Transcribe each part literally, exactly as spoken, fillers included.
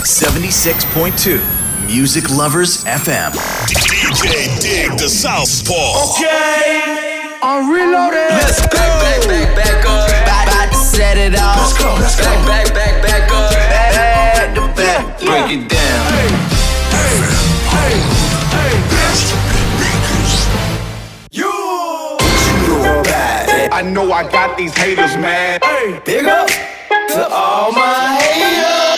seventy-six point two Music Lovers エフエム D J Dig the Southpaw. Okay, I'm reloaded. Let's go. Back, back, back, back up. About, about to set it off. Let's go, let's go. Back, back, back, back up. Back to back. Yeah. Break it down. Hey, hey, hey, hey. You. You bad. I know I got these haters mad. Hey, big up to all my haters.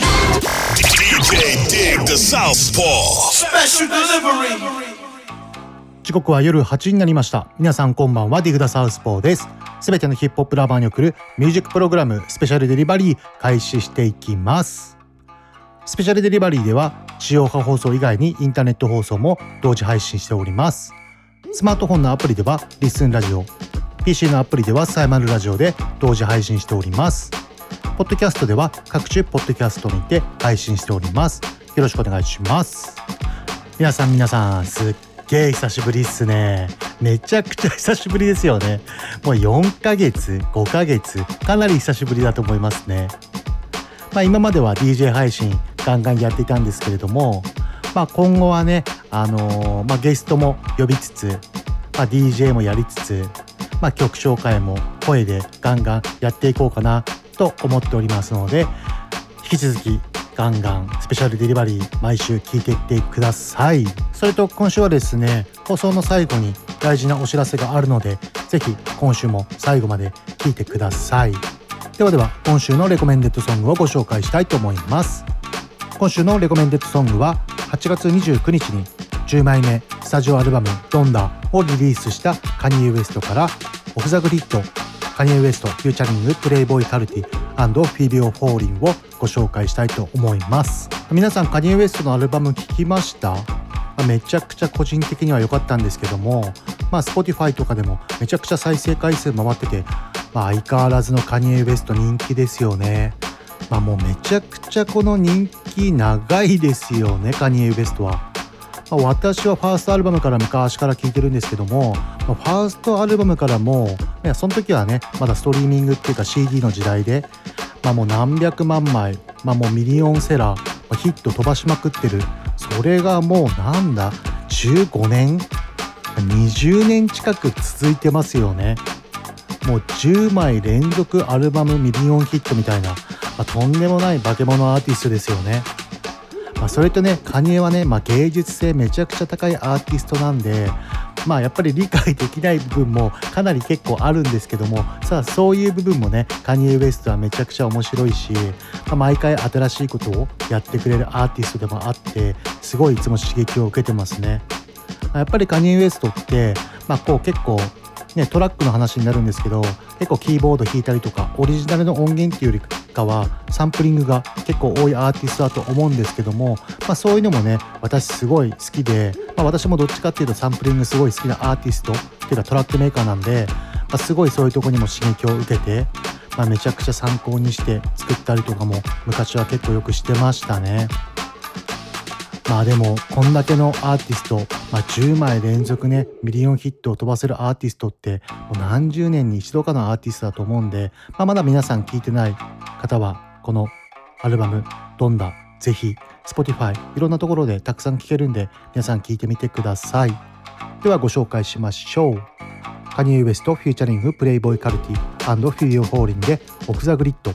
D J Dig the Southpaw. Special delivery. 時刻は夜はちじになりました。皆さんこんばんは。ディグダサウスポーです。すべてのヒップホップラバーに送るミュージックプログラムスペシャルデリバリー開始していきます。スペシャルデリバリーでは地上波放送以外にインターネット放送も同時配信しております。スマートフォンのアプリではリッスンラジオ、 ピーシー のアプリではサイマルラジオで同時配信しております。ポッドキャストでは各種ポッドキャストにて配信しております。よろしくお願いします。皆さん皆さんすっげー久しぶりっすね。めちゃくちゃ久しぶりですよね。もうよんかげつごかげつかなり久しぶりだと思いますね。まあ今までは ディージェー 配信ガンガンやっていたんですけれども、まあ今後はねあのー、まあゲストも呼びつつ、まあ ディージェー もやりつつ、まあ曲紹介も声でガンガンやっていこうかなと思っておりますので、引き続きガンガンスペシャルデリバリー毎週聞いていってください。それと今週はですね、放送の最後に大事なお知らせがあるので、ぜひ今週も最後まで聞いてください。ではでは今週のレコメンデッドソングをご紹介したいと思います。今週のレコメンデッドソングははちがつにじゅうくにちにじゅうまいめスタジオアルバムドンダをリリースしたカニエ・ウエストからオフ・ザ・グリッド、カニエ・ウエストフューチャリングプレイボーイ・カルティ&フィービオ・フォーリンをご紹介したいと思います。皆さんカニエ・ウエストのアルバム聴きました？めちゃくちゃ個人的には良かったんですけども、まあ Spotify とかでもめちゃくちゃ再生回数回ってて、まあ、相変わらずのカニエ・ウエスト人気ですよね。まあもうめちゃくちゃこの人気長いですよね、カニエ・ウエストは。まあ、私はファーストアルバムから昔から聴いてるんですけども、まあ、ファーストアルバムからもいやその時はねまだストリーミングっていうか シーディー の時代で、まあ、もう何百万枚、まあ、もうミリオンセラー、まあ、ヒット飛ばしまくってる。それがもうなんだじゅうごねんにじゅうねん近く続いてますよね。もうじゅうまい連続アルバムミリオンヒットみたいな、まあ、とんでもない化け物アーティストですよね。まあ、それとねカニエはね、まあ、芸術性めちゃくちゃ高いアーティストなんで、まあやっぱり理解できない部分もかなり結構あるんですけども、さあそういう部分もねカニエ・ウエストはめちゃくちゃ面白いし、まあ、毎回新しいことをやってくれるアーティストでもあって、すごいいつも刺激を受けてますね。やっぱりカニエ・ウエストって、まあ、こう結構ねトラックの話になるんですけど、結構キーボード弾いたりとかオリジナルの音源っていうよりかはサンプリングが結構多いアーティストだと思うんですけども、まあ、そういうのもね私すごい好きで、まあ、私もどっちかっていうとサンプリングすごい好きなアーティストっていうかトラックメーカーなんで、まあ、すごいそういうところにも刺激を受けて、まあ、めちゃくちゃ参考にして作ったりとかも昔は結構よくしてましたね。まあでもこんだけのアーティスト、まあ、じゅうまい連続ねミリオンヒットを飛ばせるアーティストってもう何十年に一度かのアーティストだと思うんで、まあ、まだ皆さん聞いてない方はこのアルバムドンダぜひ Spotify いろんなところでたくさん聴けるんで皆さん聞いてみてください。ではご紹介しましょう。カニエ・ウエストフューチャリングプレイボーイ・カルティ&フィービオ・フォーリンでオフ・ザ・グリッド。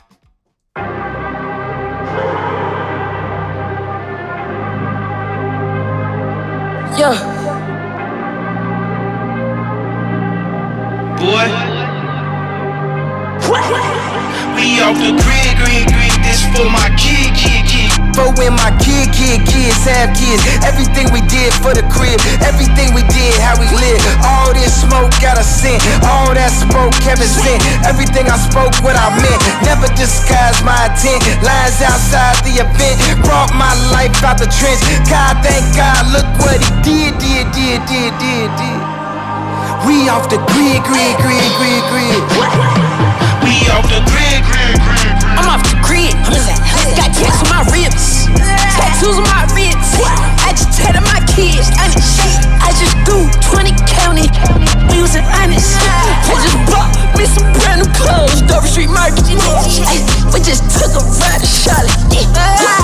Yeah. Boy. We off the grid, grid, grid. This for my kid, kid, kid. For when my kid, kid, kids have kids. Everything we did for the crib. Everything we did, how we live. All this smoke got a scent. All that smoke Kevin sent. Everything I spoke, what I meant. Never disguised my intent. Lines outside the event. Brought my life out the trench. God, thank God, look what he did, did, did, did, did, did. We off the grid, grid, grid, grid, grid. We off the grid, grid, grid, grid. I'm off the grid. Got tats on my ribs, tattoos on my wrists. I just tatted my kids. I just do twenty county. We was in honest. I just bought me some brand new clothes. Dover Street Market. We just took a ride to Charlotte.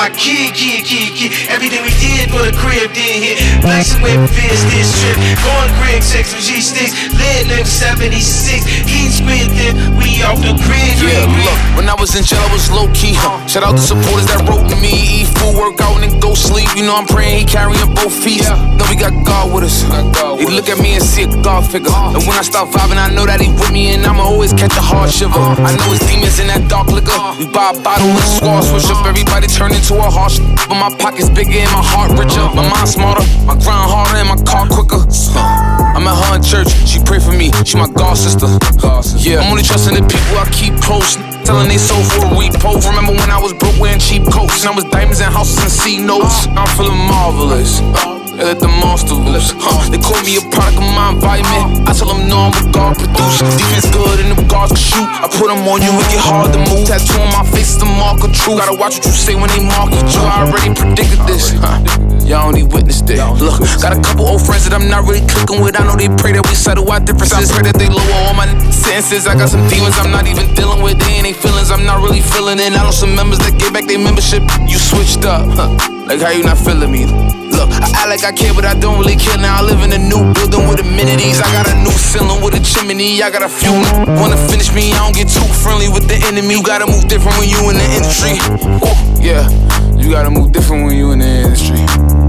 my kid, kid, kid, kid. Everything we did for the crib did hit. Flexing with Fizz this trip. Going Greg six with G sticks. Lit nigga seventy-six. Heat squid then we off the crib. Yeah, look, when I was in jail, I was low key. Huh? Shout out to supporters that wrote me. Eat food, work out, and then go sleep. You know I'm praying he carrying both feet. Yeah. Then we got God with us. God he with look us. At me and see a God figure. Uh. And when I start vibing, I know that he with me, and I'ma always catch a hard shiver. Uh. I know it's demons in that dark liquor. Uh. We buy a bottle with a squad, switch up. Everybody turn into a harsh. But my pockets bigger and my heart richer. My mind smarter, my grind harder, and my car quicker. Uh. I'm at her in church, she pray for me. She my God sister. God sister. Yeah, I'm only trusting the people I keep close. Telling they sold for a repo. Remember when I was broke wearing cheap coats, and I was diamonds and houses and C notes. I'm feeling marvelous. They let the monster loose. Huh. They call me a product of my environment. I tell them no, I'm a God producer. Defense good and them guards can shoot. I put them on you, it get hard to move. Tattoo on my face is the mark of truth. Gotta watch what you say when they market you. I already predicted this. Huh. Y'all only witnessed it. Look, got a couple old friends that I'm not really clicking with. I know they pray that we settle our differences. Pray that they lower all my sentences. I got some demons I'm not even dealing with. They ain't they feelings I'm not really feeling in. I know some members that gave back their membership. You switched up, huh? Like how you not feeling me? Look, I act like I care, but I don't really care. Now I live in a new building with amenities. I got a new ceiling with a chimney. I got a few wanna finish me. I don't get too friendly with the enemy. You gotta move different when you in the industry. Whoa, yeah, you gotta move different when you in the industry.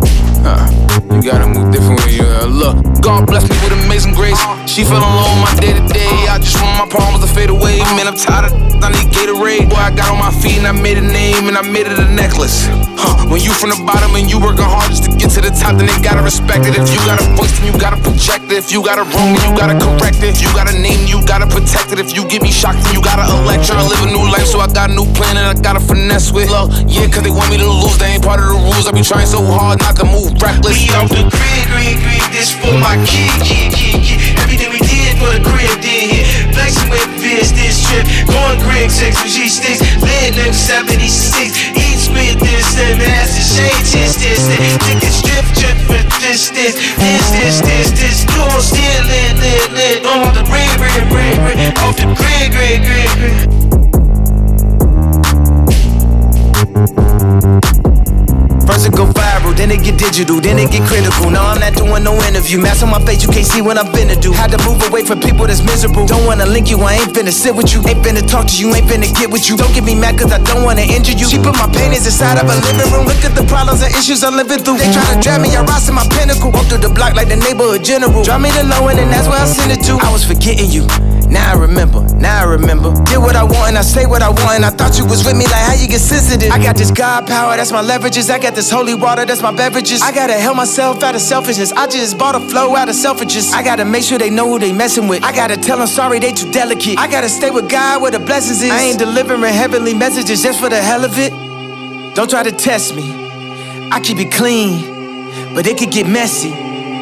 Uh, you gotta move different when you uh, look. God bless me with amazing grace. She fell alone my day to day. I just want my problems to fade away. Man, I'm tired of I need Gatorade. Boy, I got on my feet and I made a name and I made it a necklace. Huh. When you from the bottom and you working hard just to get to the top, then they gotta respect it. If you got a voice, then you gotta project it. If you got a wrong, then you gotta correct it. If you got a name, you gotta protect it. If you get me shocked, then you gotta elect. Tryna live a new life, so I got a new plan and I gotta finesse with love. Yeah, cause they want me to lose, they ain't part of the rules. I be trying so hard not to move reckless. We off the grid, grid, grid. This for my kid, kid, kid, kid. Everything we did for the crib did hit. Flexing with Fizz this trip. Going Greg six with G sticks. Lit nigga seventy-six. Eat spit this and that's the shade this this this. Nigga strip trip for this this this this this this. You on still lit lit lit. On the grid, grid, grid, grid. Off the grid, grid, grid, grid. First it go viral, then it get digital, then it get critical. No, I'm not doing no interview. Mask on my face, you can't see what I'm finna do. Had to move away from people that's miserable. Don't wanna link you, I ain't finna sit with you. Ain't finna talk to you, ain't finna get with you. Don't get me mad cause I don't wanna injure you. She put my paintings inside of a living room. Look at the problems and issues I'm living through. They try to drag me, I rise to my pinnacle. Walk through the block like the neighborhood general. Drop me the low end and that's where I send it to. I was forgetting you. Now I remember, now I remember. Did what I want and I say what I want. And I thought you was with me, like how you get sensitive. I got this God power, that's my leverages. I got this holy water, that's my beverages. I gotta help myself out of selfishness. I just bought a flow out of selfishness. I gotta make sure they know who they messing with. I gotta tell them sorry, they too delicate. I gotta stay with God where the blessings is. I ain't delivering heavenly messages just for the hell of it. Don't try to test me, I keep it clean, but it could get messy.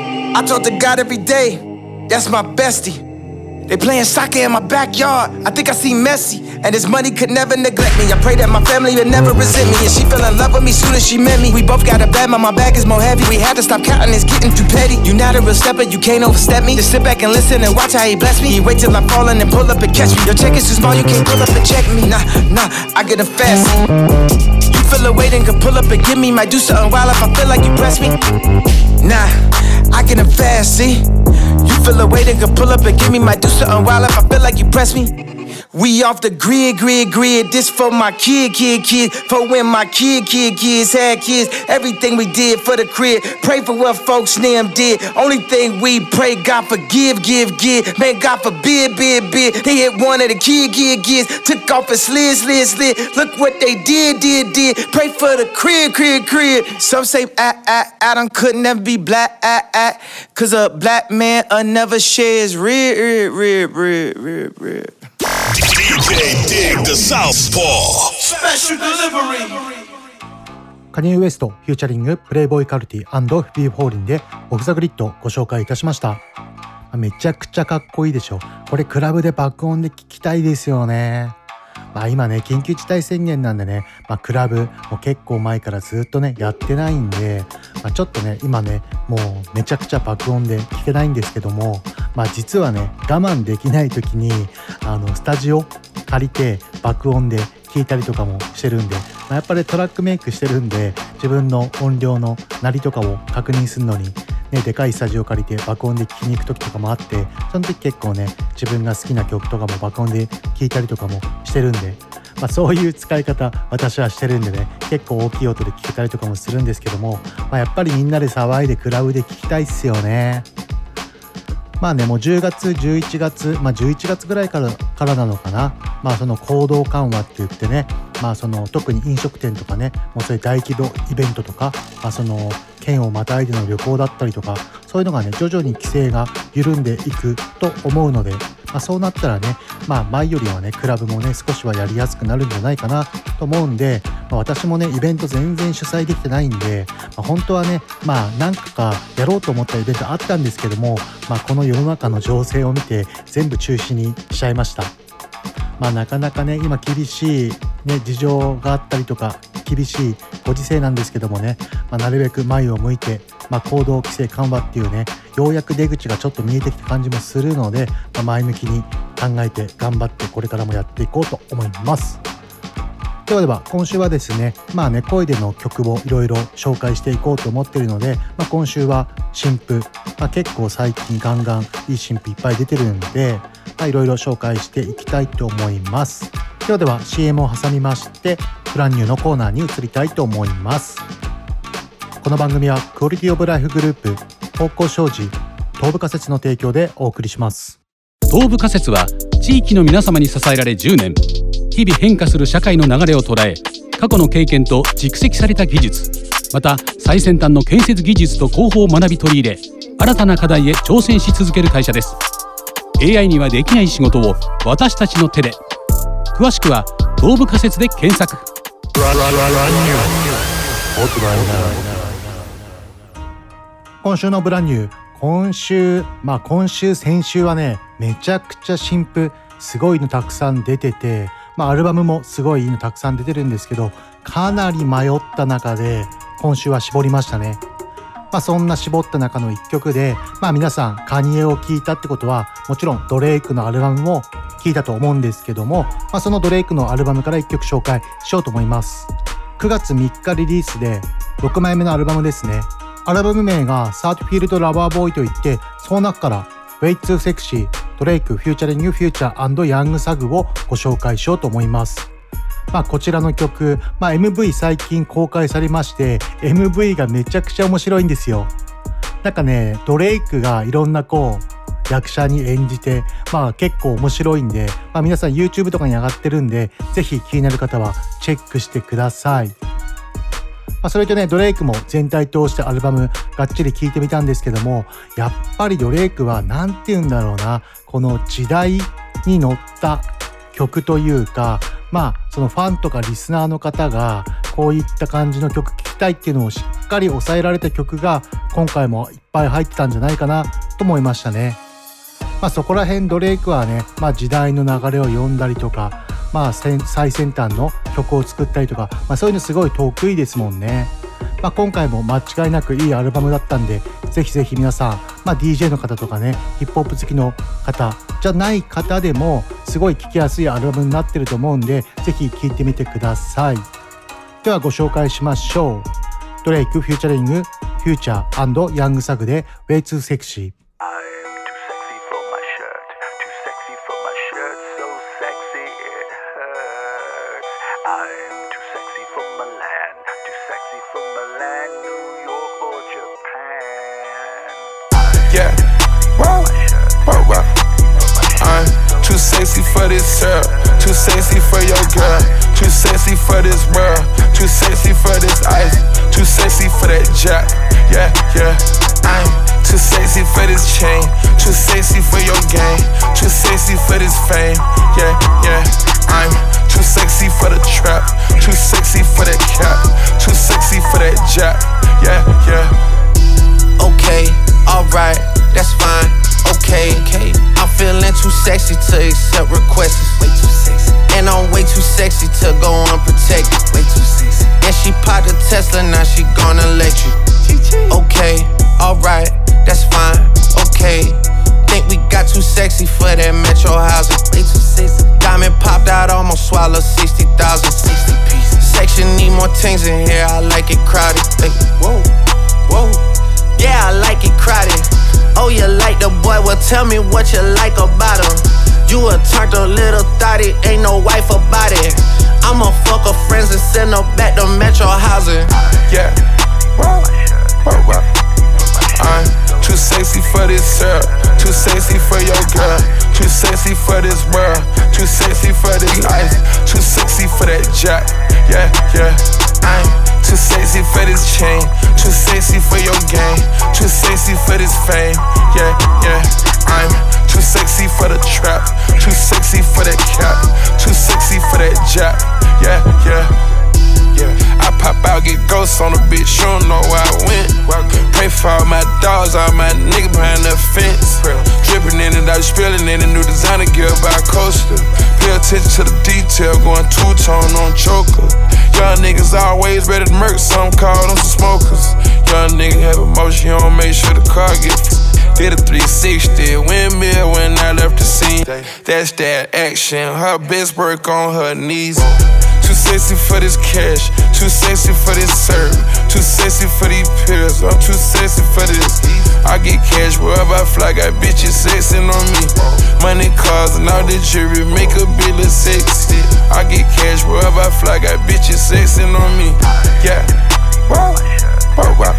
I talk to God every day, that's my bestie. They playing soccer in my backyard. I think I see Messi, and his money could never neglect me. I pray that my family would never resent me, and she fell in love with me soon as she met me. We both got a bad, but my bag is more heavy. We had to stop counting, it's getting too petty. You not a real stepper, you can't overstep me. Just sit back and listen and watch how he bless me. He wait till I'm falling and pull up and catch me. Your check is too small, you can't pull up and check me. Nah, nah, I get a fast. You feel a weight and can pull up and give me. Might do something wild if I feel like you press me. Nah, I get a fast, see. You feel a weight and can pull up and give me. Might do something wild if I feel like you press me. We off the grid, grid, grid. This for my kid, kid, kid. For when my kid, kid, kids had kids. Everything we did for the crib. Pray for what folks them did. Only thing we pray, God forgive, give, give. Man, God forbid, bid, bid. They hit one of the kid, kid, kids. Took off and slid, slid, slid. Look what they did, did, did. Pray for the crib, crib, crib. Some say, ah, ah, Adam could never be black, ah, ah. Cause a black man uh, never shares rib, rib, rib, rib, rib, rib. D J Dig the Southpaw Special Delivery カニエ・ウエストフューチャリングプレイボーイカルティ&フィー・フォーリンでオフ・ザ・グリッドをご紹介いたしました。めちゃくちゃかっこいいでしょ。これクラブで爆音で聴きたいですよね。まあ今ね緊急事態宣言なんでね、まあ、クラブも結構前からずっとねやってないんで、まあ、ちょっとね今ねもうめちゃくちゃ爆音で聴けないんですけども、まあ実はね我慢できない時にあのスタジオ借りて爆音で聴いたりとかもしてるんで、 あ、やっぱりトラックメイクしてるんで自分の音量の鳴りとかを確認するのに、ね、でかいスタジオ借りて爆音で聴きに行く時とかもあって、その時結構ね自分が好きな曲とかも爆音で聴いたりとかもしてるんで、まあ、そういう使い方私はしてるんでね、結構大きい音で聴けたりとかもするんですけども、まあ、やっぱりみんなで騒いでクラブで聴きたいっすよね。まあね、もうじゅうがつじゅういちがつ、まあじゅういちがつぐらいからからなのかな、まあその行動緩和って言ってね、まあその特に飲食店とかね、もうそういう大規模イベントとか、まあその県をまたいでの旅行だったりとか、そういうのがね徐々に規制が緩んでいくと思うので、まあそうなったらね、まあ前よりはねクラブもね少しはやりやすくなるんじゃないかなと思うんで、まあ、私もねイベント全然主催できてないんで、まあ、本当はねまあ何個かやろうと思ったイベントあったんですけども、まあこの世の中の情勢を見て全部中止にしちゃいました。まあなかなかね今厳しいね事情があったりとか厳しいご時世なんですけどもね、まあ、なるべく前を向いて、まあ、行動規制緩和っていうねようやく出口がちょっと見えてきた感じもするので、まあ、前向きに考えて頑張ってこれからもやっていこうと思います。ではでは今週はですね、まあね声での曲をいろいろ紹介していこうと思っているので、まあ、今週は新譜、まあ、結構最近ガンガンいい新譜いっぱい出てるんで、まあ、いろいろ紹介していきたいと思います。ではでは シーエム を挟みましてブランニューのコーナーに移りたいと思います。この番組はクオリティオブライフグループ方向障子東部仮説の提供でお送りします。 東部仮説は地域の皆様に支えられじゅうねん、日々変化する社会の流れを捉え、過去の経験と蓄積された技術、また最先端の建設技術と工法を学び取り入れ、新たな課題へ挑戦し続ける会社です。 エーアイ にはできない仕事を私たちの手で。詳しくは東部仮説で検索。 今週のブランニュー、今週まあ今週先週はねめちゃくちゃ新譜すごいのたくさん出てて、まあアルバムもすごいいいのたくさん出てるんですけど、かなり迷った中で今週は絞りましたね。まあそんな絞った中の一曲で、まあ皆さんカニエを聴いたってことはもちろんドレイクのアルバムも聴いたと思うんですけども、まあそのドレイクのアルバムから一曲紹介しようと思います。くがつみっかリリースでろくまいめのアルバムですね。アルバム名がサーティフィールドラバーボーイといって、その中からWay Too Sexy、ドレイク、フューチャリングフューチャー&ヤングサグをご紹介しようと思います。まあこちらの曲、まあ エムブイ 最近公開されまして、エムブイ がめちゃくちゃ面白いんですよ。なんかね、ドレイクがいろんなこう役者に演じて、まあ結構面白いんで、まあ皆さん YouTube とかに上がってるんで、ぜひ気になる方はチェックしてください。まあ、それとねドレイクも全体通してアルバムがっちり聴いてみたんですけども、やっぱりドレイクはなんて言うんだろうな、この時代に乗った曲というか、まあそのファンとかリスナーの方がこういった感じの曲聴きたいっていうのをしっかり抑えられた曲が今回もいっぱい入ってたんじゃないかなと思いましたね。まあそこら辺ドレイクはね、まあ時代の流れを読んだりとか、まあ最先端の曲を作ったりとか、まあそういうのすごい得意ですもんね。まあ今回も間違いなくいいアルバムだったんで、ぜひぜひ皆さん、まあ ディージェー の方とかね、ヒップホップ好きの方じゃない方でもすごい聴きやすいアルバムになってると思うんで、ぜひ聴いてみてください。ではご紹介しましょう。ドレイクフューチャリングフューチャー&ヤングサグで Way Too Sexy。 Yeah, whoa, whoa, whoa. I'm too sexy for this girl, too sexy for your girl, too sexy for this world, too sexy for this ice, too sexy for that jack. Yeah, yeah. I'm too sexy for this chain, too sexy for your game, too sexy for this fame. Yeah, yeah. I'm too sexy for the trap, too sexy for that cap, too sexy for that jack. Yeah, yeah. Okay, alright, that's fine. Okay, okay. I'm feeling too sexy to accept requests. Way too sexy. And I'm way too sexy to go unprotected. Way too sexy. And she popped a Tesla, now she gonna let you. Okay, alright, that's fine. Okay. Think we got too sexy for that metro housing. Way too sexy. Diamond popped out, almost swallowed sixty thousand. sixty pieces. Section E Tell me what you like about him. You a turned a little thotty, ain't no wife about it. I'ma fuck her friends and send her back to Metro housing. Yeah, whoa, whoa, whoa. I'm too sexy for this syrup, too sexy for your girl, too sexy for this world, too sexy for this life, too sexy for that jack. Yeah, yeah. I'm too sexy for this chain, too sexy for your game, too sexy for this fame. Yeah, yeah. I'm too sexy for the trap, too sexy for that cap, too sexy for that jack. Yeah, yeah. Yeah. I pop out, get ghosts on the bitch, you don't know where I went. Pray for all my dogs, all my niggas behind the fence. Dripping in and out, spilling in a new designer gear by Coaster. Pay attention to the detail, going two-tone on choker. Young niggas always ready to murk, some call them some smokers. Young nigga have emotion, you don't make sure the car gets. Did a three sixty, windmill when I left the scene. That's that action, her best work on her knees. Too sexy for this cash, too sexy for this serve, too sexy for these pills, I'm too sexy for this. I get cash wherever I fly, got bitches sexing on me. Money, cars, and all the jewelry make a bill of sexy. I get cash wherever I fly, got bitches sexing on me. Yeah, whoa, whoa, whoa.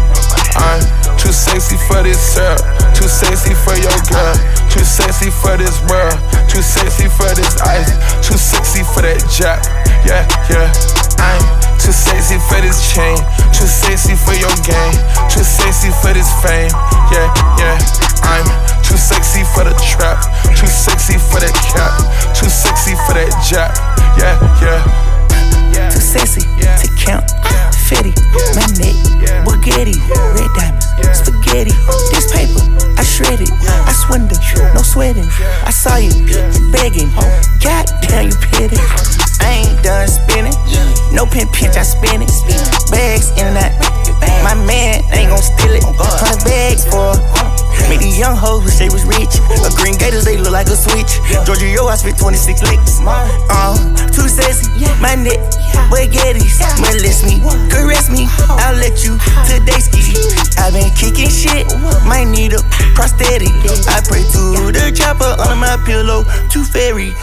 I'm too sexy for this syrup, too sexy for your girl, too sexy for this world, too sexy for this ice, too sexy for that jack. Yeah, yeah. I'm too sexy for this chain, too sexy for your game, too sexy for this fame. Yeah, yeah. I'm too sexy for the trap, too sexy for that cap, too sexy for that jack. Yeah, yeah. Too sexy to count, Fetty, my neck, Bugatti, red diamonds, spaghetti. This paper, I shred it, I swindle, no sweating. I saw you begging, goddamn you petty. I ain't done spinning, no pin pinch, I spin it. Bags in and out, my man ain't gon' steal it. Hundred bags for made these young hoes wish they was rich. A green gators, they look like a switch. Georgia, yo, I spit twenty-six licks. Uh, too sexy, my neck, spaghettis. Molest me, caress me, I'll let you today ski. I been kicking shit, might need a prosthetic. I pray to the chopper under my pillow, too fairy.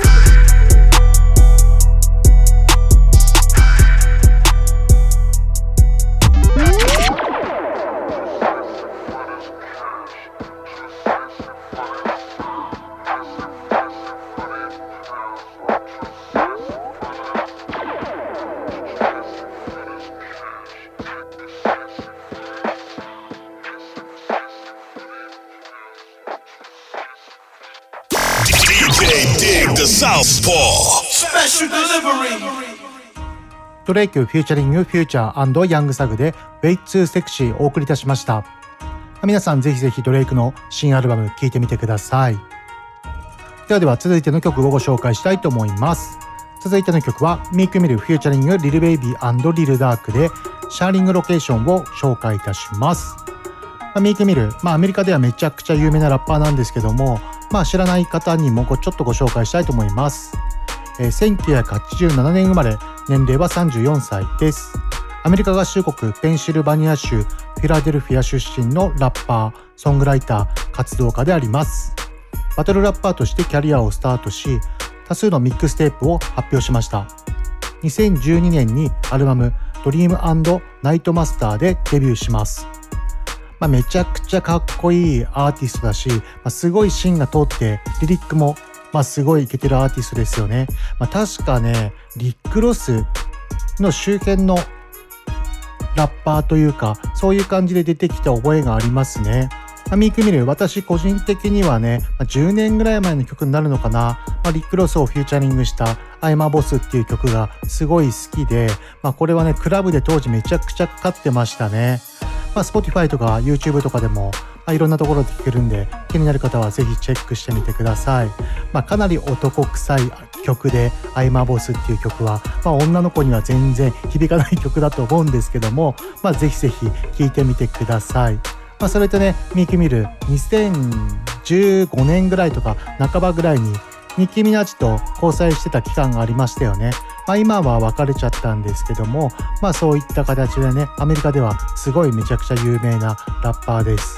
ドレイクフューチャリングフューチャー&ヤングサグで Way Too Sexy お送りいたしました。皆さんぜひぜひドレイクの新アルバム聴いてみてください。ではでは続いての曲をご紹介したいと思います。続いての曲はミークミルフューチャリングリルベイビー&リルダークでシャーリングロケーションを紹介いたします。まあ、ミークミル、まあ、アメリカではめちゃくちゃ有名なラッパーなんですけども、まあ、知らない方にもちょっとご紹介したいと思います。えー、せんきゅうひゃくはちじゅうななねん生まれ、年齢はさんじゅうよんさいです。アメリカ合衆国ペンシルバニア州フィラデルフィア出身のラッパー、ソングライター、活動家であります。バトルラッパーとしてキャリアをスタートし、多数のミックステープを発表しました。にせんじゅうにねんにアルバムドリーム&ナイトマスターでデビューします。まあ、めちゃくちゃかっこいいアーティストだし、まあ、すごい芯が通ってリリックもまあすごいイケてるアーティストですよね。まあ、確かねリック・ロスの周辺のラッパーというかそういう感じで出てきた覚えがありますね。まあ、ミークミル、私個人的にはね、まあ、じゅうねんぐらい前の曲になるのかな、まあ、リック・ロスをフューチャリングしたアイマボスっていう曲がすごい好きで、まあ、これはねクラブで当時めちゃくちゃかかってましたね。まあ、Spotify とか YouTube とかでも、まあ、いろんなところで聴けるんで気になる方はぜひチェックしてみてください。まあ、かなり男臭い曲でアイマボスっていう曲は、まあ、女の子には全然響かない曲だと思うんですけども、まあ、ぜひぜひ聴いてみてください。まあ、それとねミークミルにせんじゅうごねんぐらいとか半ばぐらいにニッキー・ミナージと交際してた期間がありましたよね。まあ、今は別れちゃったんですけども、まあそういった形でねアメリカではすごいめちゃくちゃ有名なラッパーです。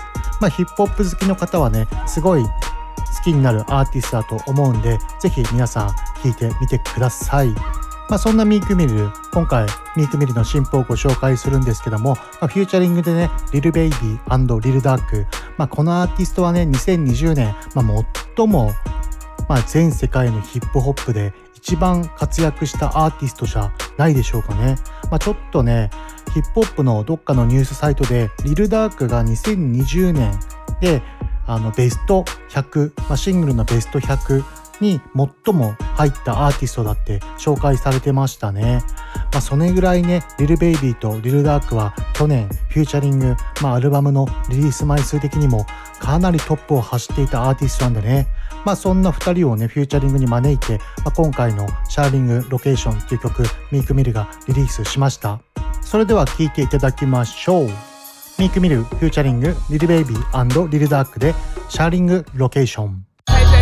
まあ、ヒップホップ好きの方はねすごい好きになるアーティストだと思うんで、ぜひ皆さん聴いてみてください。まあ、そんなミークミル、今回ミークミルの新譜をご紹介するんですけども、まあ、フューチャリングでねリルベイビー&リルダーク、まあ、このアーティストはねにせんにじゅうねん、まあ、最も、まあ、全世界のヒップホップで一番活躍したアーティストじゃないでしょうかね。まあ、ちょっとねヒップホップのどっかのニュースサイトでリルダークがにせんにじゅうねんであのベストひゃく、まあ、シングルのベストひゃくに最も入ったアーティストだって紹介されてましたね。まあ、それぐらいねリルベイビーとリルダークは去年フューチャリング、まあ、アルバムのリリース枚数的にもかなりトップを走っていたアーティストなんでね、まあ、そんなふたりをねフューチャリングに招いて、まあ、今回のシャーリングロケーションという曲ミークミルがリリースしました。それでは聴いていただきましょう。ミークミルフューチャリングリルベイビー&リルダークでシャーリングロケーション。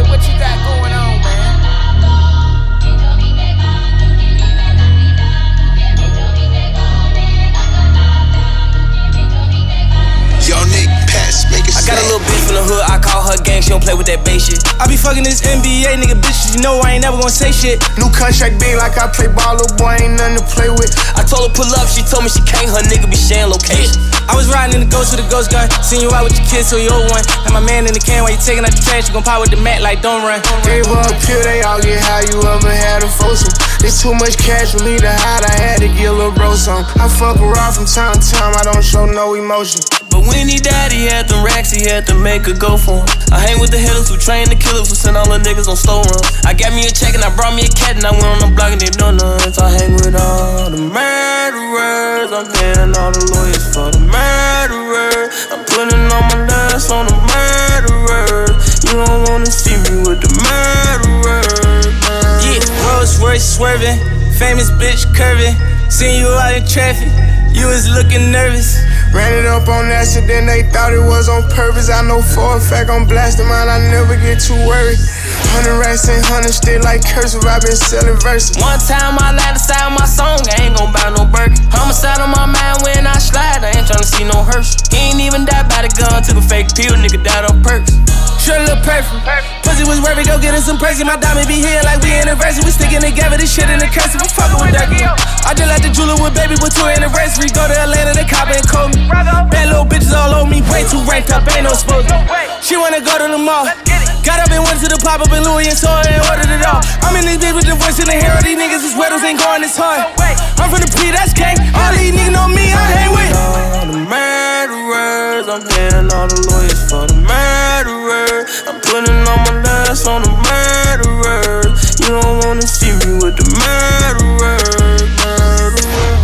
I got a little bitch from the hood, I call her gang, she don't play with that bass shit. I be fucking this N B A nigga bitches, you know I ain't never gonna say shit. New contract big like I play ball, little boy ain't nothing to play with. I told her pull up, she told me she can't, her nigga be sharing location. I was riding in the ghost with a ghost gun, seen you out with your kids, so you old one. Had my man in the can while you taking out the trash, you gon' pop with the mat like don't run. Gave her a pill, they all get high, you ever had a foursome. There's too much cash for me to hide, I had to get a little bro some. I fuck around from time to time, I don't show no emotion. But when he died, he had them racks, he had to make a go for him. I hang with the hitters who train the killers who send all the niggas on slow run. I got me a check and I brought me a cat and I went on the block and they know none. So I hang with all the murderers, I'm paying all the lawyers for the murderers. I'm putting all my last on the murderers. You don't wanna see me with the murderers. Yeah, Rolls Royce swerving, famous bitch curving. Seen you out in traffic, you was looking nervous. Ran it up on accident, they thought it was on purpose. I know for a fact I'm blasting mine, I never get too worried. Hundred racks and hundred still like cursive, I been selling verses. One time I lied aside my song, I ain't gon' buy no Birkin. Homicide on my mind when I slide, I ain't tryna see no hearse. He ain't even died by the gun, took a fake pill, nigga died on perks. Sure look perfect, pussy was worth it, go get us some Percy. My diamond be here like we anniversary, we sticking together, this shit in the cursive, I'm fucking with that girl. I just like the jeweler with baby with two anniversary. Go to Atlanta, the cop and call me. Bad little bitches all on me, way too ranked up, ain't no supposed to. She wanna go to the mall, got up and went to the pop up in Louis and saw it and ordered it all. I'm in this bitch with the voice in the hair, these niggas, these weddles ain't going this hard. I'm from the P, that's gang, all these niggas know me, I hang with all the murderers, I'm paying all the lawyers for the murderers. I'm putting all my last on the murderers. You don't wanna see me with the murderers, murderers.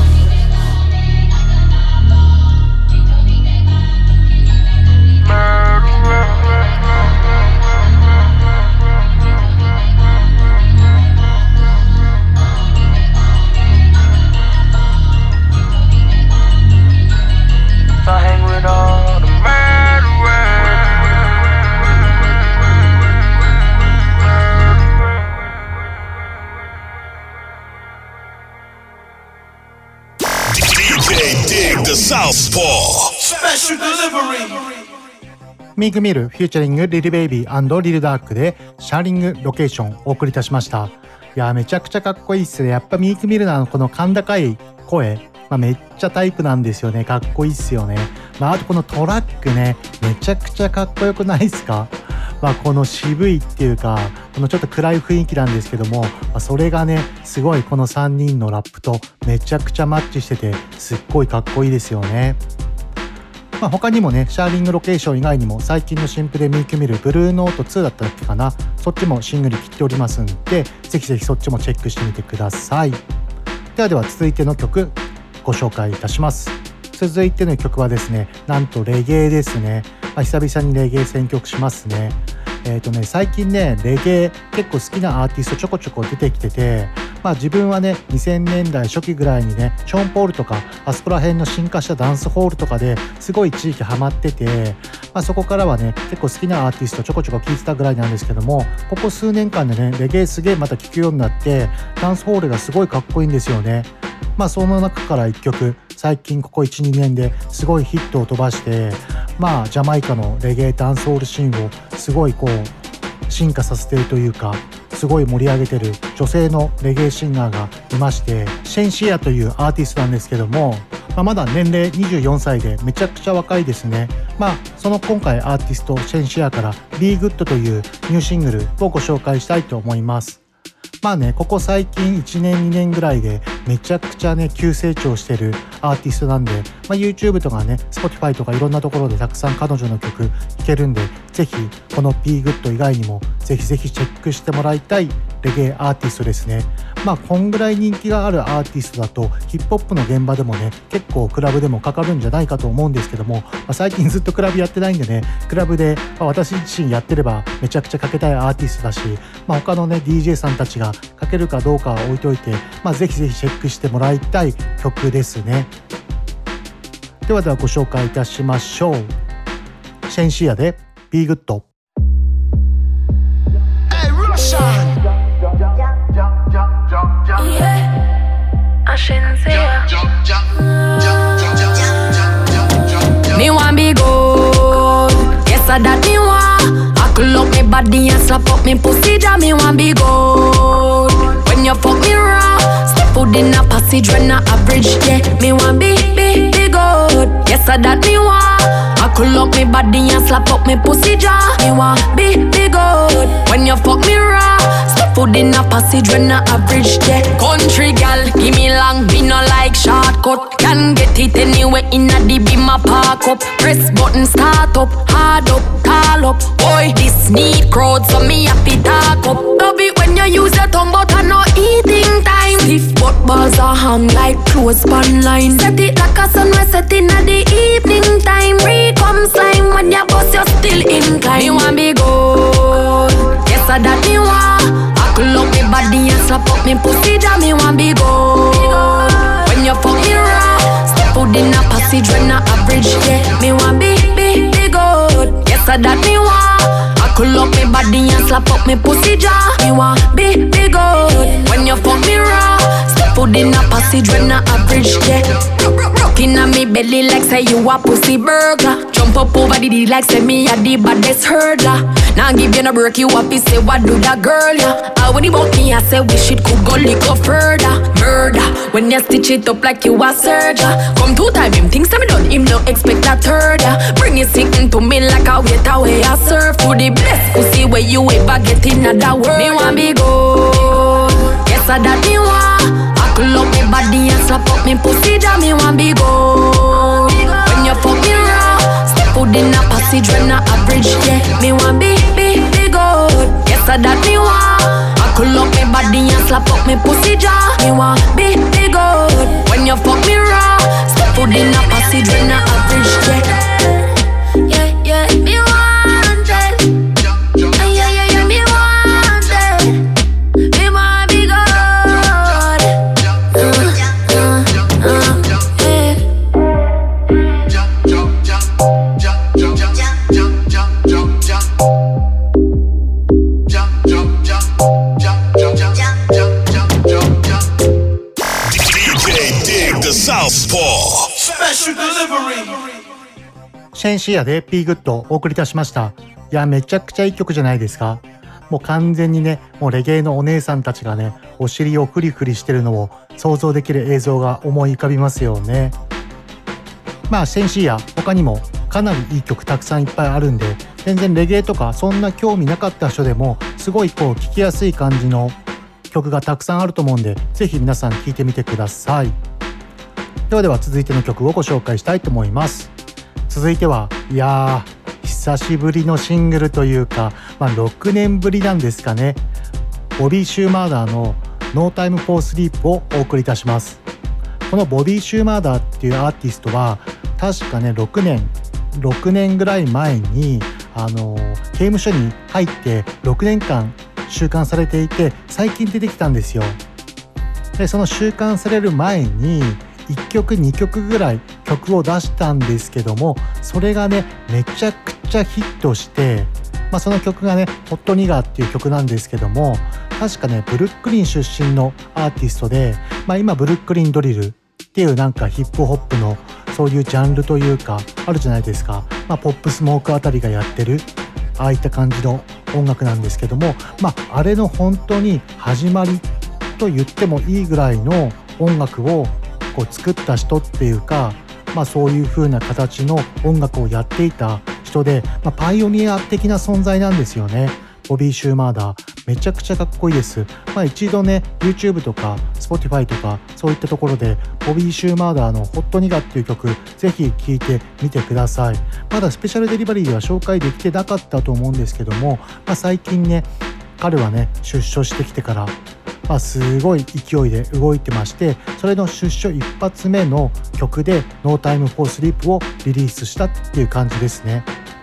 I hang with all the murderers. D J Dig the Southpaw Special delivery. ミークミルフューチャリングリルベイビー&リルダークでシャーリングロケーションをお送りいたしました。いやめちゃくちゃかっこいいっすね。やっぱミークミルのこの甲高い声、まあ、めっちゃタイプなんですよね。かっこいいっすよね。まあ、あとこのトラックね、めちゃくちゃかっこよくないっすか。まあ、この渋いっていうかこのちょっと暗い雰囲気なんですけども、まあ、それがねすごいこのさんにんのラップとめちゃくちゃマッチしててすっごいかっこいいですよね。まあ、他にもねシャーリングロケーション以外にも最近の新譜でミークミルブルーノートツーだったっけかな、そっちもシングル切っておりますんでぜひぜひそっちもチェックしてみてください。ではでは続いての曲ご紹介いたします。続いての曲はですねなんとレゲエですね。まあ、久々にレゲエ選曲しますね。えーとね最近ねレゲエ結構好きなアーティストちょこちょこ出てきてて、まあ自分はねにせんねんだい初期ぐらいにねショーン・ポールとかあそこら辺の進化したダンスホールとかですごい地域ハマってて、まあ、そこからはね結構好きなアーティストちょこちょこ聴いてたぐらいなんですけども、ここ数年間でねレゲエすげえまた聴くようになってダンスホールがすごいかっこいいんですよね。まあその中からいっきょく最近ここ いちにねんですごいヒットを飛ばして、 まあジャマイカのレゲエダンスホールシーンをすごいこう進化させているというか、すごい盛り上げてる女性のレゲエシンガーがいまして、シェンシアというアーティストなんですけども、まあ、まだ年齢にじゅうよんさいでめちゃくちゃ若いですね。まあその今回アーティストシェンシアから Be Good というニューシングルをご紹介したいと思います。まあね、ここ最近いちねんにねんぐらいでめちゃくちゃね急成長してるアーティストなんで、まあ、YouTube とかね Spotify とかいろんなところでたくさん彼女の曲聴けるんで、ぜひこの Be Good 以外にもぜひぜひチェックしてもらいたいレゲエアーティストですね。まあこんぐらい人気があるアーティストだとヒップホップの現場でもね結構クラブでもかかるんじゃないかと思うんですけども、まあ、最近ずっとクラブやってないんでね、クラブで、まあ、私自身やってればめちゃくちゃかけたいアーティストだし、まあ、他のね ディージェー さんたちがかけるかどうかは置いといて、まあ、ぜひぜひチェックしてもらいたい曲ですね。ではではご紹介いたしましょう。シェンシアで Be Good。 Me want be good, yes I that me want. I could up me body and slap up me pussy, ja me want be good. When you fuck me raw, step foot in a passage when I average, yeah. Me want be, be, be good, yes I that me want. I could up me body and slap up me pussy, ja me want be, be good. When you fuck me raw, step foot in a passage when I average, yeah. Country gal, give me long, me no like shortcut. Can get it anywhere in a the beam a park up. Press button start up, hard up, call up. Boy, this need crowd so me happy talk up. Love it when you use your tongue but I no eating time. Stiff but balls are hung like clothespan line. Set it like a sun we set in a the evening time. Re-come slime when you bust you still inclined. Me want be good, yes I that me want. I could up me body and slap up me pussy, ja me want be good. When you fuck me raw, step foot in a passage when I average, yeah. Me want be, be, be good, yes I that me want. I could up me body and slap up me pussy, ja me want be, be good. When you fuck me raw, step foot in a passage when I average, yeah. Rockin' on me belly like say you a pussy burglar. Jump up over the D like say me a the baddest hurdler. Now give you no break, you happy say what do that girl, yeah. I when he bought me I say wish it could go lick up further. Murder, when you stitch it up like you a surgeon. Come two time him thinks I'm done, him no expect a third, yeah. Bring it sitting to me like a waiter where I serve. For the best pussy where you ever get in other world. Me want be good, yes I that me want. Pull up me body and slap up me pussy, ja me want be good. When you fuck me raw, step foot in a passage when I average, yeah. Me want be, be, be good, yes I that me want. I pull up me body and slap up me pussy, ja me want be, be good. When you fuck me raw, step foot in a passage when I average, yeah. Yeah, yeah, me want it. Yeah, yeah, yeah, me want it. Me want be good. Special delivery. シェンシアで Be Good をお送りいたしました。いやめちゃくちゃいい曲じゃないですか。もう完全にね、もうレゲエのお姉さんたちがねお尻をフリフリしてるのを想像できる映像が思い浮かびますよね。まあシェンシア他にもかなりいい曲たくさんいっぱいあるんで、全然レゲエとかそんな興味なかった人でもすごいこう聴きやすい感じの曲がたくさんあると思うんで、ぜひ皆さん聴いてみてください。ではでは続いての曲をご紹介したいと思います。続いてはいやー久しぶりのシングルというか、まあ、ろくねんぶりなんですかね。ボビー・シューマーダーの No Time for Sleep をお送りいたします。このボビー・シューマーダーっていうアーティストは確かねろくねんろくねんぐらい前にあの刑務所に入ってろくねんかん収監されていて、最近出てきたんですよ。でその収監される前にいっきょくにきょくぐらい曲を出したんですけども、それがねめちゃくちゃヒットして、まあ、その曲がねホットニガーっていう曲なんですけども、確かねブルックリン出身のアーティストで、まあ、今ブルックリンドリルっっていうなんかヒップホップのそういうジャンルというかあるじゃないですか。まあポップスモークあたりがやってるああいった感じの音楽なんですけども、まああれの本当に始まりと言ってもいいぐらいの音楽をこう作った人っていうか、まあそういう風な形の音楽をやっていた人で、まあ、パイオニア的な存在なんですよね。ボビー・シューマーダーめちゃくちゃかっこいいです。まあ一度ね YouTube とか Spotify とかそういったところでボビー・シューマーダーのホットニガっていう曲ぜひ聴いてみてください。まだスペシャルデリバリーでは紹介できてなかったと思うんですけども、まあ、最近ね彼はね出所してきてから、まあ、すごい勢いで動いてまして、それの出所一発目の曲で No Time for Sleep をリリースしたっていう感じですね。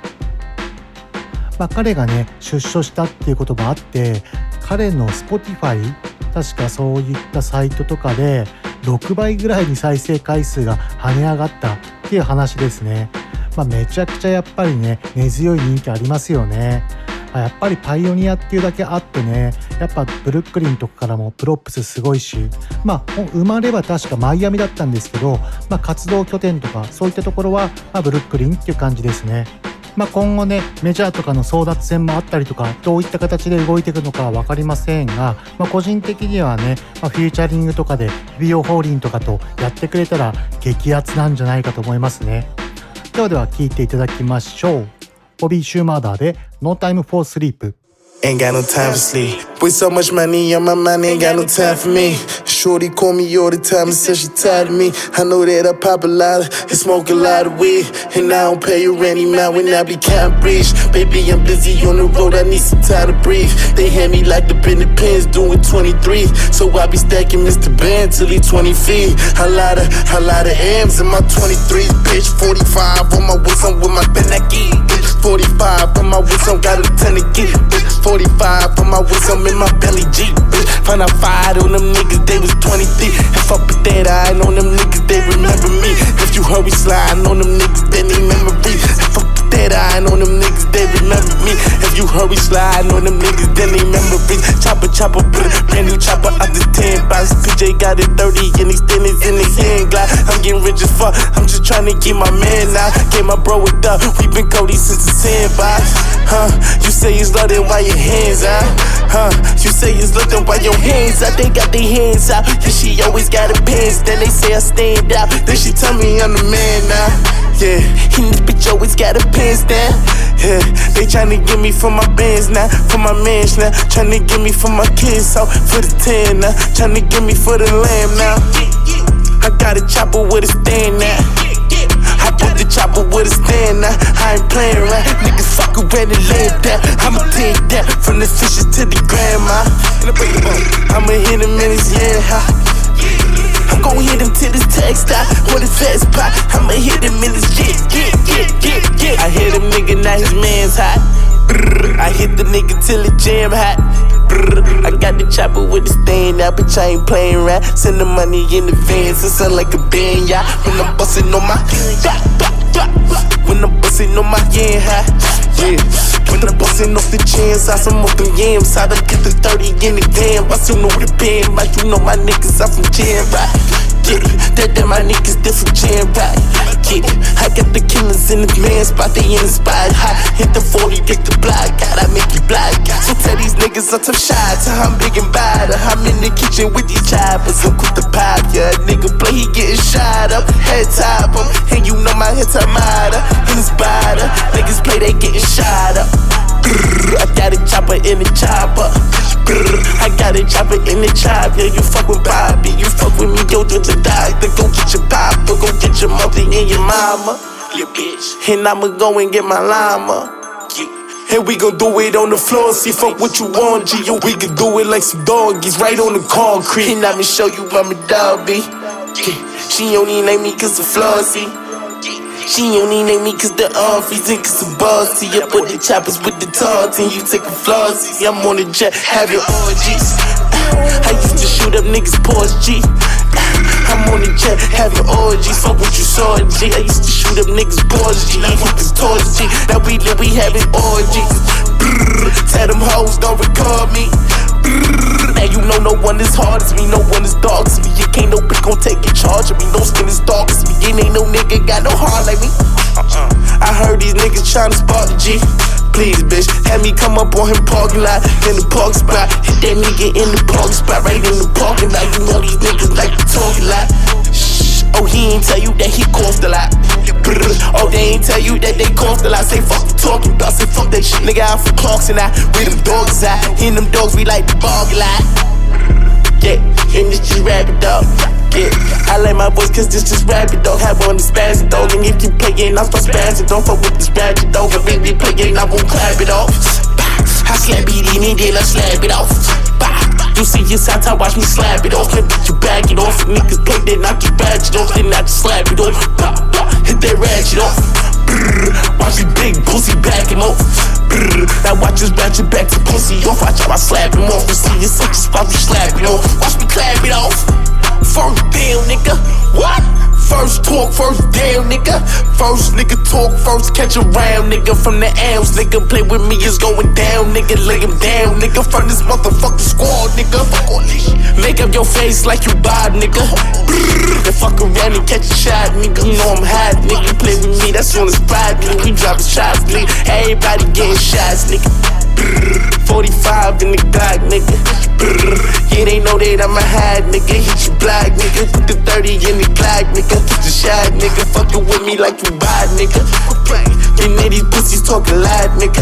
まあ、彼がね出所したっていうこともあって、彼の Spotify 確かそういったサイトとかでろくばいぐらいに再生回数が跳ね上がったっていう話ですね。まあ、めちゃくちゃやっぱりね根強い人気ありますよね。やっぱりパイオニアっていうだけあってね、やっぱブルックリンとかからもプロップスすごいし、まあ生まれは確かマイアミだったんですけど、まあ、活動拠点とかそういったところは、まあ、ブルックリンっていう感じですね。まあ、今後ねメジャーとかの争奪戦もあったりとか、どういった形で動いていくのかは分かりませんが、まあ、個人的にはね、まあ、フューチャリングとかでビオホーリンとかとやってくれたら激アツなんじゃないかと思いますね。ではでは聴いていただきましょう。ボビー・シューマーダーで No Time for Sleep。 Ain't got no time for sleep. With so much money on my mind, ain't got no time for me. Shorty call me all the time and says she tired of me. I know that I pop a lot and smoke a lot of weed, and I don't pay you any mind when I be counting breach. Baby, I'm busy on the road, I need some time to breathe. They hand me like the Bennett pins doing twenty-three, so I be stacking Mister Ben till he twenty feet. A lot of, a lot of M's in my twenty-threes, bitch. forty-five on my wrist, I'm with my Benaki, bitch. forty-five on my wrist, I'm got a ton of get, bitch. forty-five on my wrist, I'm in my belly Jeep, bitch. Find out five on them niggas, they was twenty-three. If I put that eye on them niggas, they remember me. If you hurry sliding on them niggas, then they memory. If I put that eye on them niggas, they remember me. If you hurry sliding on them niggas, then they memory. Chopper, chopper, brand new chopper out the ten box. P J got it thirty and he standing in his hand glide. I'm getting rich as fuck, I'm just trying to get my man out. Get my bro with up, we been Cody since the sandbox. Huh, you say it's love, then why your hands out? Huh, you say it's love, then why your hands out? They got their hands out, yeah, she always got her pants. Then they say I stand out, then she tell me I'm the man now. Yeah, and this bitch always got her pants down. Yeah, they tryna get me for my bands now, for my mans now. Tryna get me for my kids out, for the ten now. Tryna get me for the lamb now. I got a chopper with a stand now. I put the chopper with a stand now. I ain't playing around, niggas fuck around and land down. I'ma take that from the fishes to the grandma. I'ma hit him in his head high. I'm gon' hit him till his text out. What his ass pop, I'ma hit him in his get, get, get, get, get. I hit him nigga, now his man's hot. Brrr. I hit the nigga till it jam hot. Brrr. I got the chopper with the stand out, bitch, I ain't playing around. Send the money in advance, it sound like a band, yeah. When I'm bustin' on my blah, blah, blah, blah. When I'm bustin' on my yeah, high, yeah. When I'm bustin' off the chins, I some of them yams. I done get the thirty in the damn. I still know the pen, like you know my niggas, I'm from Jam, right? Get it, that that my niggas different Jam, right? Get it, I got the killers in the man spot, they in the spot high. Hit the forty, get the block, God, I make you black. So tell these niggas I'm tough shots, I'm big and bad. I'm in the kitchen with these choppers, I'm quick to pop, yeah. Nigga play, he getting shot up, head top him. And you know my head top matter, in his body. Niggas play, they getting shot up. I got a chopper in the chopper. I got a chopper in the chopper. Yeah, you fuck with Bobby, you fuck with me, go to the doctor. Go get your papa, go get your mother and your mama, your bitch. And I'ma go and get my llama. And we gon' do it on the floor, see fuck what you want, G. Yo, we can do it like some doggies, right on the concrete. And I'ma show you I'm a dog, B. She only name me cause of Flossie. She only name me cause the office and cause the bossy. I put the choppers with the tarts and you take a flossy. I'm on the jet, have your orgies. I used to shoot up niggas' Porsche, G. I'm on the jet, having orgies. Fuck what you saw, G. I used to shoot up niggas' Porsche, G. I hit the torch, G. Now we live, we having orgies. Brrr, tell them hoes don't record me. Brrr, now you know no one is hard as me, no one is dog as me. You can't no bitch gon' take in charge of me. No then ain't no nigga got no heart like me. I heard these niggas tryna spark the G. Please, bitch, have me come up on him parking lot in the park spot. Hit that nigga in the parking spot, right in the parking lot. You know these niggas like to talk a lot. Shh. Oh, he ain't tell you that he coughed a lot. Brr. Oh, they ain't tell you that they coughed a lot. Say fuck you talking about, say fuck that shit. Nigga out for Clarks and I, where them dogs at? In them dogs, we like to bog a lot. Yeah, and this just rabbit dog. Yeah, I like my voice cause this just rabbit dog. Have on the spazzy dog. And if you playin', I start spazzing. Don't fuck with this ratchet dog. If they playin', I won't clap it off. I slap it in and then I slap it off. You see your side, I watch me slap it off. Then you back it off. Niggas play, then I get ratchet off. Then I just slap it off. Hit that ratchet off. Watch me big pussy back him off. Now watch us ratchet back to pussy off. Watch how I slap him off. You see your such as watch me slap it off. Watch me clap it off. First down, nigga. What? First talk, first down, nigga. First nigga talk, first catch a round, nigga. From the L's, nigga. Play with me, it's going down, nigga. Lay him down, nigga. From this motherfucking squad, nigga. Fuck all this shit. Make up your face like you bad, nigga. And fuck around and catch a shot, nigga. You know I'm hot, nigga. Play with me, that's on the spot, nigga. We dropping shots, nigga. Everybody getting shots, nigga. forty-five in the Glock, nigga. Yeah, they know that I'm a hide, nigga. Hit you black, nigga. Put the thirty in the Glock, nigga. Get the shot, nigga. Fuckin' with me like you bad, nigga. And then these pussies talkin' loud, nigga.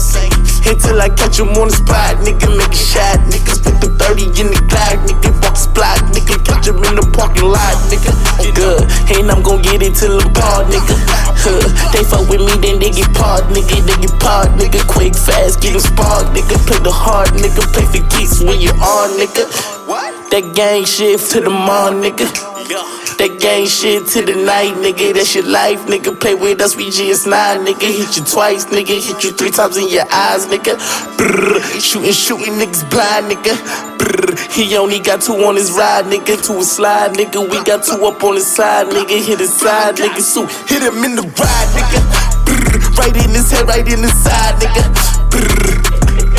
Until I catch them on the spot, nigga. Make a shot, nigga. Put the thirty in the Glock, nigga. Box block, nigga. Catch them in the parking lot, nigga. Good, and I'm gon' get it till I'm barred, nigga. Huh. They fuck with me, then they get parked, nigga. They get parked, nigga. Quick, fast, get them sparked, nigga. Play the hard, nigga. Play for geeks when you on, nigga. That gang shit to the morning, nigga. That gang shit to the night, nigga. That's your life, nigga. Play with us, we G S nine, nigga. Hit you twice, nigga. Hit you three times in your eyes, nigga. Brrr. Shooting, shooting, niggas blind, nigga. Brrr. He only got two on his ride, nigga. To a slide, nigga. We got two up on his side, nigga. Hit his side, nigga. So hit him in the ride, nigga. Brrr. Right in his head, right in his side, nigga. Brrr.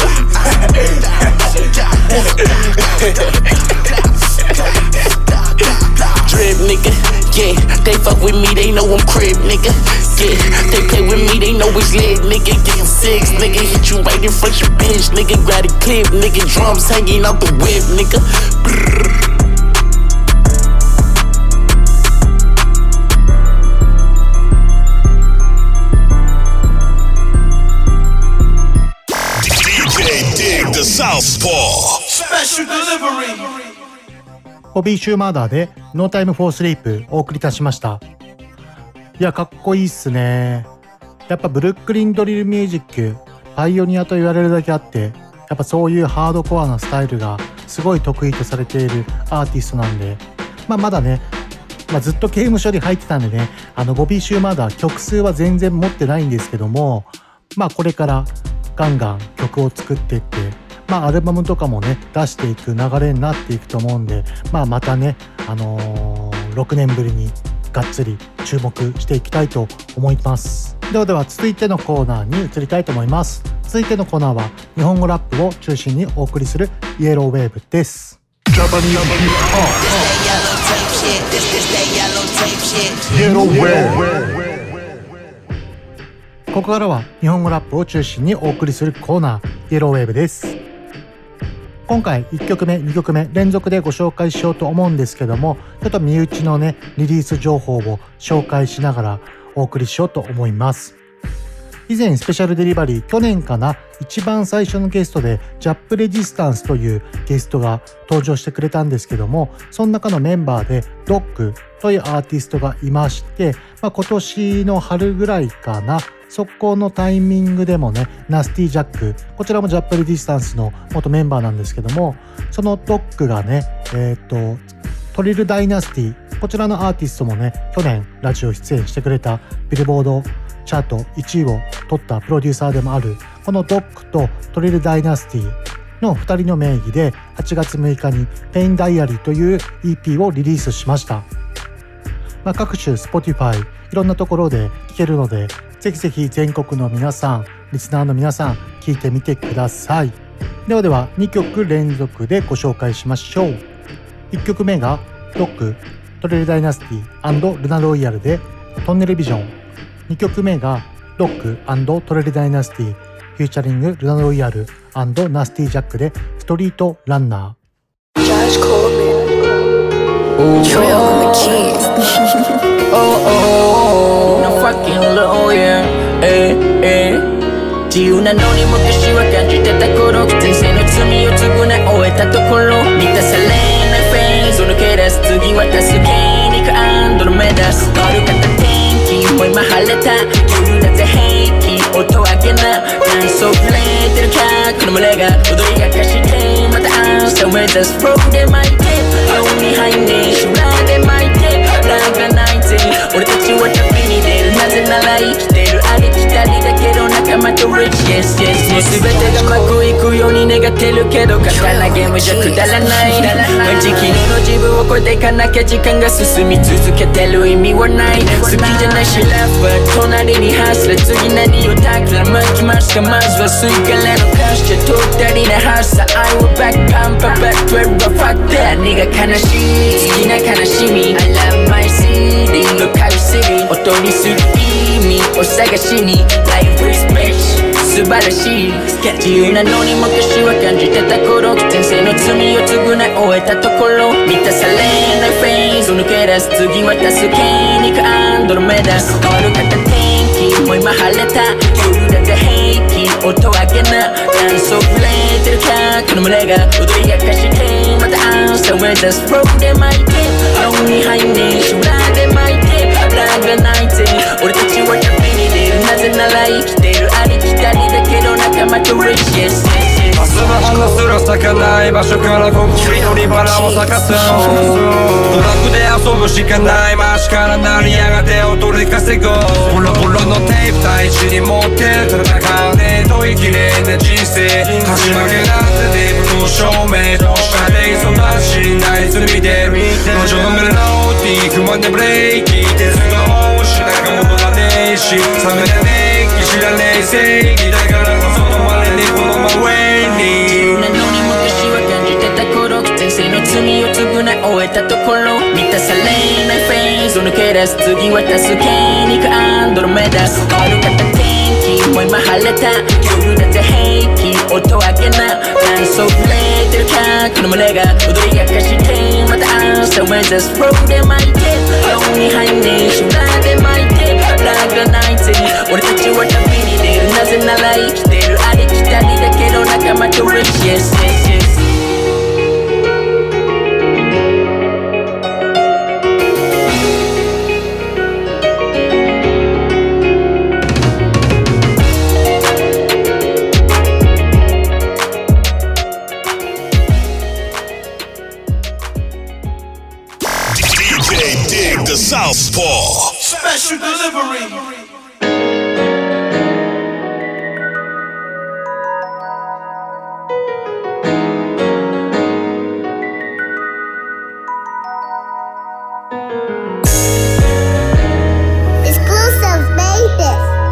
Drip, nigga, yeah, they fuck with me, they know I'm crib, nigga. Yeah, they play with me, they know it's lit, nigga. Get six, nigga, hit you right in front your bitch, nigga. Grab the clip, nigga, drums hanging out the whip, nigga. Brrr. The Southpaw Special Delivery ホビーシューマーダーで No Time for Sleep お送りいたしました。いや、かっこいいっすね。やっぱブルックリンドリルミュージックパイオニアと言われるだけあって、やっぱそういうハードコアなスタイルがすごい得意とされているアーティストなんで、まあまだね、まあ、ずっと刑務所に入ってたんでね、あのボビーシューマーダー曲数は全然持ってないんですけども、まあこれからガンガン曲を作っていって、まあアルバムとかもね出していく流れになっていくと思うんで、まあまたね、あのー、ろくねんぶりにがっつり注目していきたいと思います。ではでは続いてのコーナーに移りたいと思います。続いてのコーナーは日本語ラップを中心にお送りするイエローウェーブです。イエローウェーブ。ここからは日本語ラップを中心にお送りするコーナーイエローウェーブです。今回いっきょくめにきょくめ連続でご紹介しようと思うんですけども、ちょっと身内のねリリース情報を紹介しながらお送りしようと思います。以前スペシャルデリバリー去年かな一番最初のゲストでジャップレジスタンスというゲストが登場してくれたんですけども、その中のメンバーでドッグというアーティストがいまして、まあ、今年の春ぐらいかな、そこのタイミングでもねナスティジャック、こちらもジャップレディスタンスの元メンバーなんですけども、そのドッグがねえっとトリルダイナスティ、こちらのアーティストもね去年ラジオ出演してくれたビルボードチャートいちいを取ったプロデューサーでもあるこのドッグとトリルダイナスティのふたりの名義ではちがつむいかにペインダイアリーという イーピー をリリースしました。まあ、各種 Spotify いろんなところで聴けるので、ぜひぜひ全国の皆さん、リスナーの皆さん聴いてみてください。ではではにきょく連続でご紹介しましょう。いっきょくめがドッグトレルダイナスティ&ルナロイヤルでトンネルビジョン。にきょくめがロック&トレルダイナスティフューチャリングルナロイヤル&ナスティジャックでストリートランナー。Josh Coleman。Trail on the keys. Oh oh, no fucking lawyer. Eh eh。自由なのに昔は感じてた頃、人生の罪を償い終えたところ、満たされないフェーズを抜け出す。次は助けに行くアンドロメダス。悪かった天気も今晴れた。夜だぜ平気音上げな。ダンスを触れてるかこの群れが踊り明かしてまた朝を目指す。フローで巻いて青に入んね修羅で巻いてランが泣いて俺たちは旅に出る。なぜなら生きてるありきたりだけど仲間と Rich Yes Yes Yes。 全てがうまくいくように願ってるけど簡単なゲームじゃくだらない。毎日昨日の自分を超えていかなきゃ時間が進み続けてる意味はない。好きじゃないしラップは隣にハスラ。次何をたくらまきますか。まずはスイカレの歌詞とったりなハスラ。I will back pump up back twelve fuck that nigga。悲しい好きな悲しみ I love my city のカルシリ音にする意味を探しに Life is bitch素晴らしい。自由なのに昔は感じてた頃、人生の罪を償い終えたところ、満たされないフェーズを抜け出す。次は助けに行くアンドロメダス。悪かった天気も今晴れた。夜だぜ平気音上げな。ダンスを触れてるかこの群れが踊り明かしてまた朝を目指す。フローで巻いて青に入んね修羅で巻いてランが泣いて俺たちは旅に出る。なぜなら生きてるありきたりだけど仲間と Rich Yes Yes。 明日の花すら咲かない場所からコンクリートにバラを咲かす。ドラッグで遊ぶしかない街から成り上がっておとり稼ごう。ボロボロのテープ大地に持って戦うねと生きれんね人生。始まりなんてデブの証明と下で忙しいないず見てる。路上のメロディー不満でブレーキ手数が多しなんか戻らねえし冷めてねえ気知らねえ正義だからこそ止まれねえこの真上に。 自由なのに昔は感じてた頃、人生の罪を償い終えたところ、満たされないフェーズを抜け出す。次は助けに行くアンドロメダス。悪かった天気も今晴れた。夜だぜ平気音上げな。ダンスを触れてるかこの群れが踊り明かしてまた朝を目指す。フローで巻いて青に入んね修羅で巻いてランが泣いて俺たちは旅に出る。なぜなら生きてるありきたりだけど仲間と Rich Yes Yes Yes。 Southpaw Special delivery. Exclusive, baby.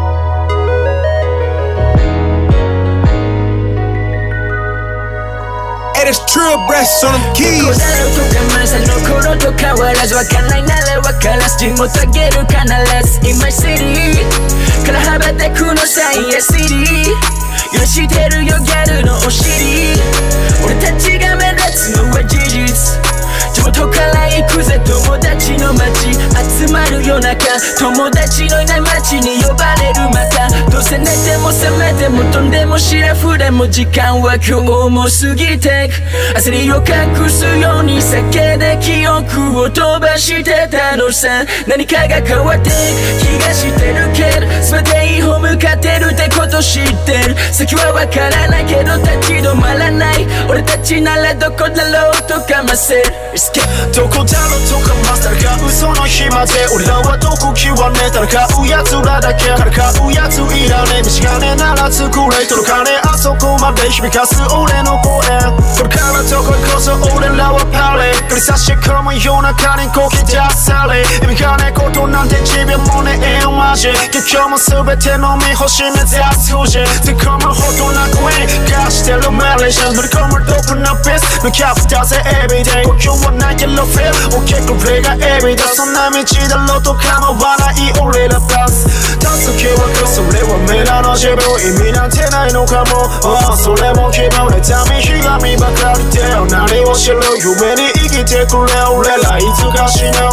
Hey, this Trill breasts on them keys. の頃と変わらず分かんないなら分からず地元あげる必ず In my city から羽ばたくのサイエシティ許してるよギャルのお尻俺たちが目立つのは事実地元から行くぜ友達の街集まる夜中友達のいない街に呼ばれるまたどうせ寝ても覚めても飛んでもシラフでも時間は今日も過ぎてく焦りを隠すように酒で記憶を飛ばしてたのさ何かが変わってく気がしてるけど全ていい方向かってるってこと知ってる先はわからないけど立ち止まらない俺たちならどこだろうとかませるどこだろうとかまさか嘘の暇で俺らはどこ極めたら買うやつらだけから買うやついらねえ道金なら作れ届かねえあそこままで響かす俺の声これからどこへこそ俺らはパレ繰り差し込む夜中にこき出され意味がねえことなんてじびょうもねえよマジ結局も全ての身星目指す富士突っ込むほどな声に貸してるメレーション乗り込むドープなピース向き合ったぜエビデイ呼吸はないけどフィル大きくプレイがエビだそんな道だろうと構わない俺らバス立つ気はくそれは未来の自分意味なんてないのかも、oh、それも気分でためひがみばかりで何を知る夢に生きてくれ俺らいつか死ぬ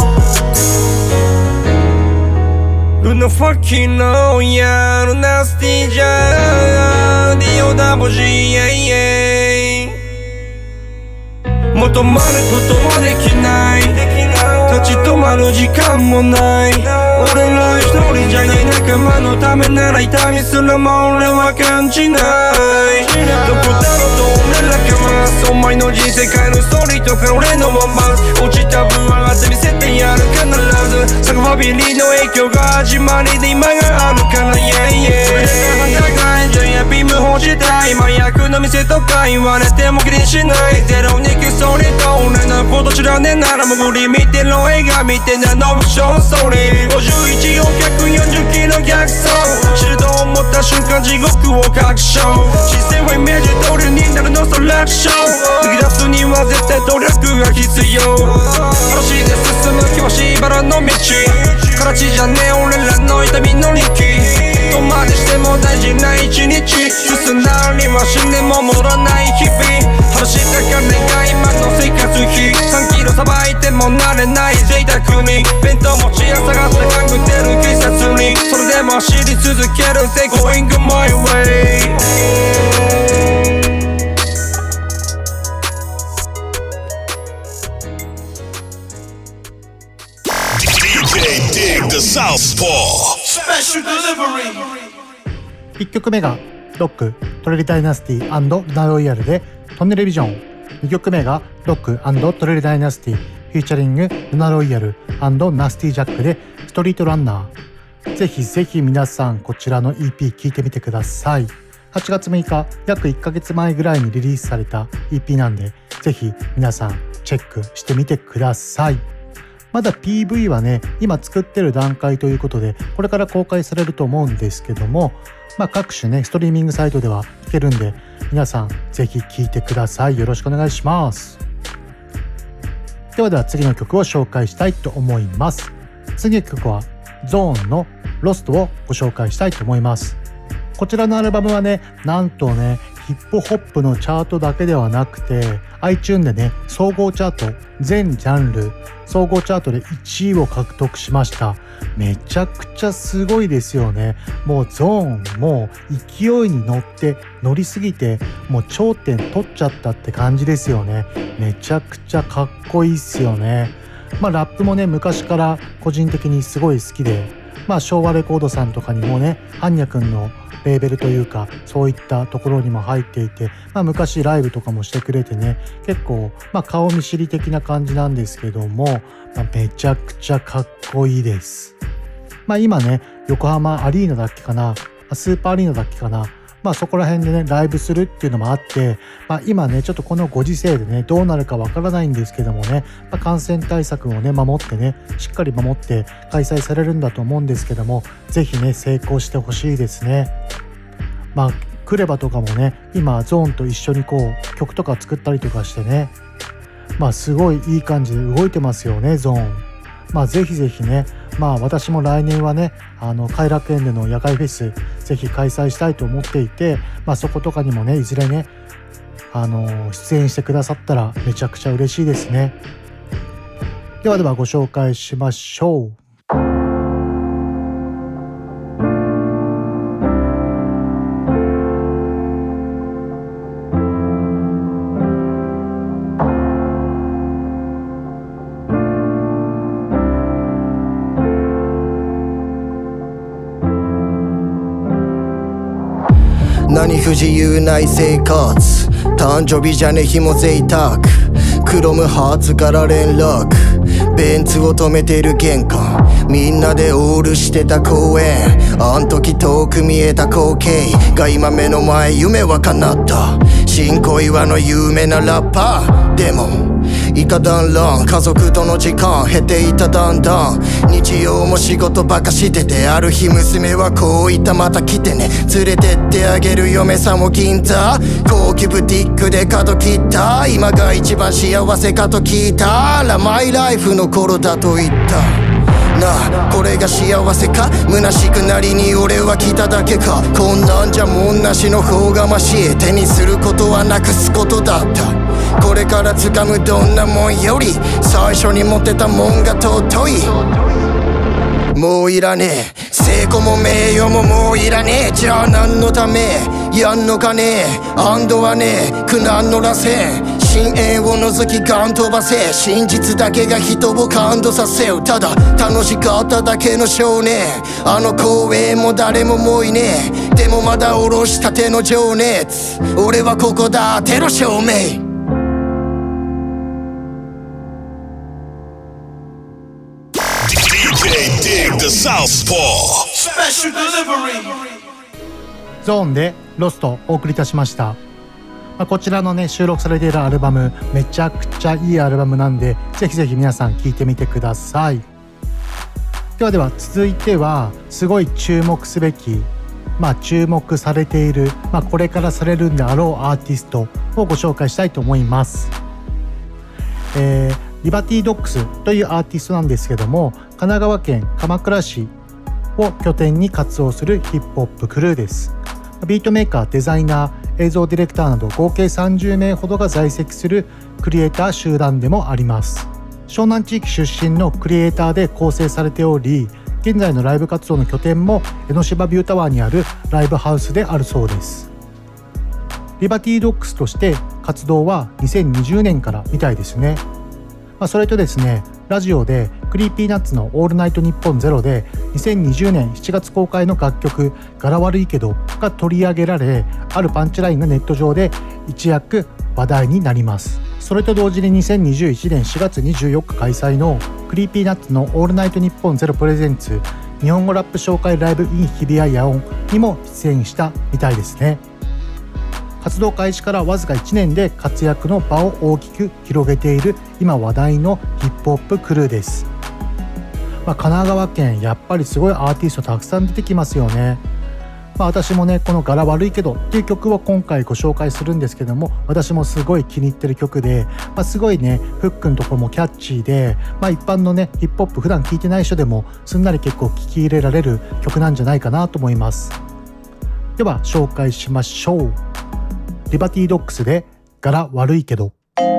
Luna fucking know ya Luna nasty ja Dio da bugie 求まることはできない立ち止まる時間もない俺ら一人じゃない仲間のためなら痛みすらも俺は感じないどこだろうと俺らかますお前の人生変えるストーリーとか俺のワンバンス落ちた分上がって見せてやる必ずサクファビリーの影響が始まりで今があるから yeah yeah それでは高いじゃやビーム欲したい麻薬の店とか言われても気にしないゼロにキスそれと俺のこと知らねえならもう無理見てろ映画見てなノブショーストーリーごじゅういちよんひゃくよんじゅっキロ逆走知ると思った瞬間地獄を確証視線はイメージ通りになるのそ楽勝抜き出すには絶対努力が必要話で進む険しいバラの道形じゃねえ俺らの痛みの力どこまでしても大事な一日進んだりは死んでも戻らない日々話した金が今の生活費さんキロさばいても慣れない贅沢に弁当持ち朝がった勘ぐってる警察にそれでも走り続ける Say going my way Dig the Southpaw Special Delivery いっきょくめがロックトレリダイナスティ&ルナロイヤルでトンネルビジョンにきょくめがロック&トレリダイナスティフューチャリングルナロイヤル&ナスティジャックでストリートランナーぜひぜひ皆さんこちらの イーピー 聴いてみてくださいはちがつむいか約いっかげつまえぐらいにリリースされた イーピー なんでぜひ皆さんチェックしてみてくださいまだ ピーブイ はね今作ってる段階ということでこれから公開されると思うんですけどもまあ各種ねストリーミングサイトでは聴けるんで皆さんぜひ聴いてくださいよろしくお願いしますではでは次の曲を紹介したいと思います次の曲はゾーンのロストをご紹介したいと思いますこちらのアルバムはねなんとねヒップホップのチャートだけではなくて iTunes でね総合チャート全ジャンル総合チャートでいちいを獲得しましためちゃくちゃすごいですよねもうゾーンもう勢いに乗って乗りすぎてもう頂点取っちゃったって感じですよねめちゃくちゃかっこいいっすよねまあラップもね昔から個人的にすごい好きでまあ昭和レコードさんとかにもねハンニャ君のレーベルというかそういったところにも入っていて、まあ、昔ライブとかもしてくれてね結構、まあ、顔見知り的な感じなんですけども、まあ、めちゃくちゃかっこいいです、まあ、今ね横浜アリーナだっけかなスーパーアリーナだっけかなまあそこら辺でねライブするっていうのもあって、まあ、今ねちょっとこのご時世でねどうなるかわからないんですけどもね、まあ、感染対策をね守ってねしっかり守って開催されるんだと思うんですけどもぜひね成功してほしいですねまあクレバとかもね今ゾーンと一緒にこう曲とか作ったりとかしてねまあすごいいい感じで動いてますよねゾーンまあぜひぜひねまあ私も来年はねあの偕楽園での野外フェスぜひ開催したいと思っていてまあそことかにもねいずれねあの出演してくださったらめちゃくちゃ嬉しいですねではではご紹介しましょう何不自由ない生活誕生日じゃね日も贅沢クロムハーツから連絡、ベンツを止めてる玄関、みんなでオールしてた公園、あん時遠く見えた光景が今目の前、夢は叶った。新小岩の有名なラッパーでも以下団らん、家族との時間減っていただんだん、日曜も仕事ばかしてて、ある日娘はこう言った、また来てね、連れてってあげる嫁さんも銀座、高級ブティックで角切った、今が一番幸せかと聞いたら、マイライフの頃だと言ったなあ、これが幸せか、虚しくなりに俺は来ただけか、こんなんじゃもんなしの方がましい、手にすることはなくすことだった。これから掴むどんなもんより最初に持ってたもんが尊い。もういらねえ成功も名誉ももういらねえ、じゃあ何のためやんのかねえ、安堵はねえ苦難の螺旋、深淵を覗きガン飛ばせ、真実だけが人を感動させる、ただ楽しかっただけの少年、あの公園も誰ももういねえ、でもまだ下ろしたての情熱、俺はここだテロ証明。 ゾーンでロストお送りいたしました。まあ、こちらのね収録されているアルバムめちゃくちゃいいアルバムなんで、ぜひぜひ皆さん聴いてみてください。ではでは続いてはすごい注目すべき、まあ注目されている、まあこれからされるんであろうアーティストをご紹介したいと思います。えーリバティドッグスというアーティストなんですけども、神奈川県鎌倉市を拠点に活動するヒップホップクルーです。ビートメーカー、デザイナー、映像ディレクターなど合計さんじゅうめいほどが在籍するクリエイター集団でもあります。湘南地域出身のクリエイターで構成されており、現在のライブ活動の拠点も江ノ島ビュータワーにあるライブハウスであるそうです。リバティドッグスとして活動はにせんにじゅうねんからみたいですね。まあ、それとですね、ラジオでクリーピーナッツのオールナイトニッポンゼロでにせんにじゅうねんしちがつ公開の楽曲柄悪いけどが取り上げられ、あるパンチラインがネット上で一躍話題になります。それと同時ににせんにじゅういちねんしがつにじゅうよっか開催のクリーピーナッツのオールナイトニッポンゼロプレゼンツ日本語ラップ紹介ライブ in 日比谷野音にも出演したみたいですね。活動開始からわずかいちねんで活躍の場を大きく広げている今話題のヒップホップクルーです。まあ、神奈川県やっぱりすごいアーティストたくさん出てきますよね。まあ、私もねこの柄悪いけどっていう曲を今回ご紹介するんですけども、私もすごい気に入ってる曲で、まあ、すごいねフックのところもキャッチーで、まあ、一般のねヒップホップ普段聴いてない人でもすんなり結構聴き入れられる曲なんじゃないかなと思います。では紹介しましょう。リバティドッグスで柄悪いけど。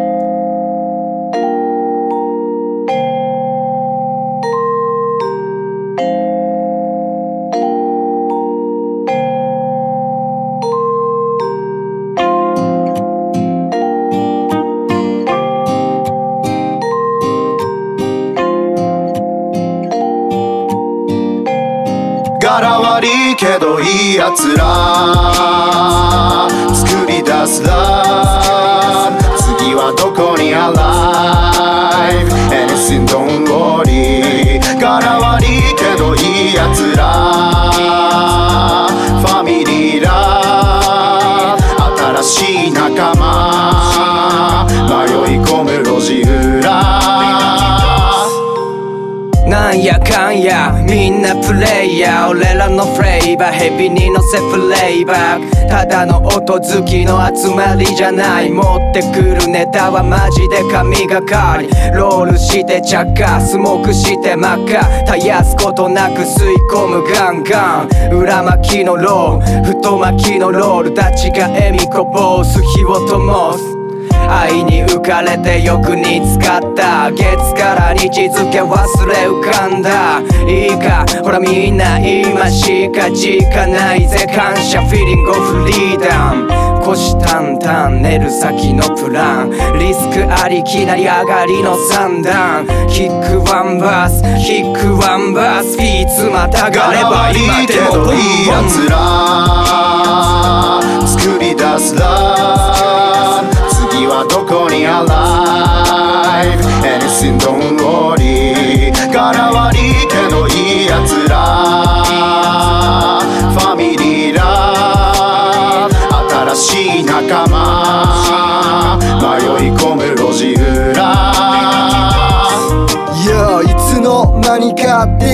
柄悪いけどいいやつら作り出すラブ、次はどこに Alive Anything don't worry。 柄悪いけどいいやつらファミリーラブ、新しい仲間迷い込む路地裏、 なんやかんやみんなプレイヤー、俺らのフレーバーヘビに乗せフレーバー、ただの音好きの集まりじゃない、持ってくるネタはマジで神がかり、ロールして着火スモークして真っ赤、絶やすことなく吸い込むガンガン、裏巻きのロール太巻きのロールたちが笑みこぼす火を灯す、愛に浮かれてよく見つかった、月から日付忘れ浮かんだ、いいかほらみんな今しか時間ないぜ、感謝フィーリングオフリーダム、虎視眈々寝る先のプラン、リスクありきなり上がりの三段、キックワンバースキックワンバース、フィーツまたがれば今でもいいやつら作り出すラブ、次はどこに Alive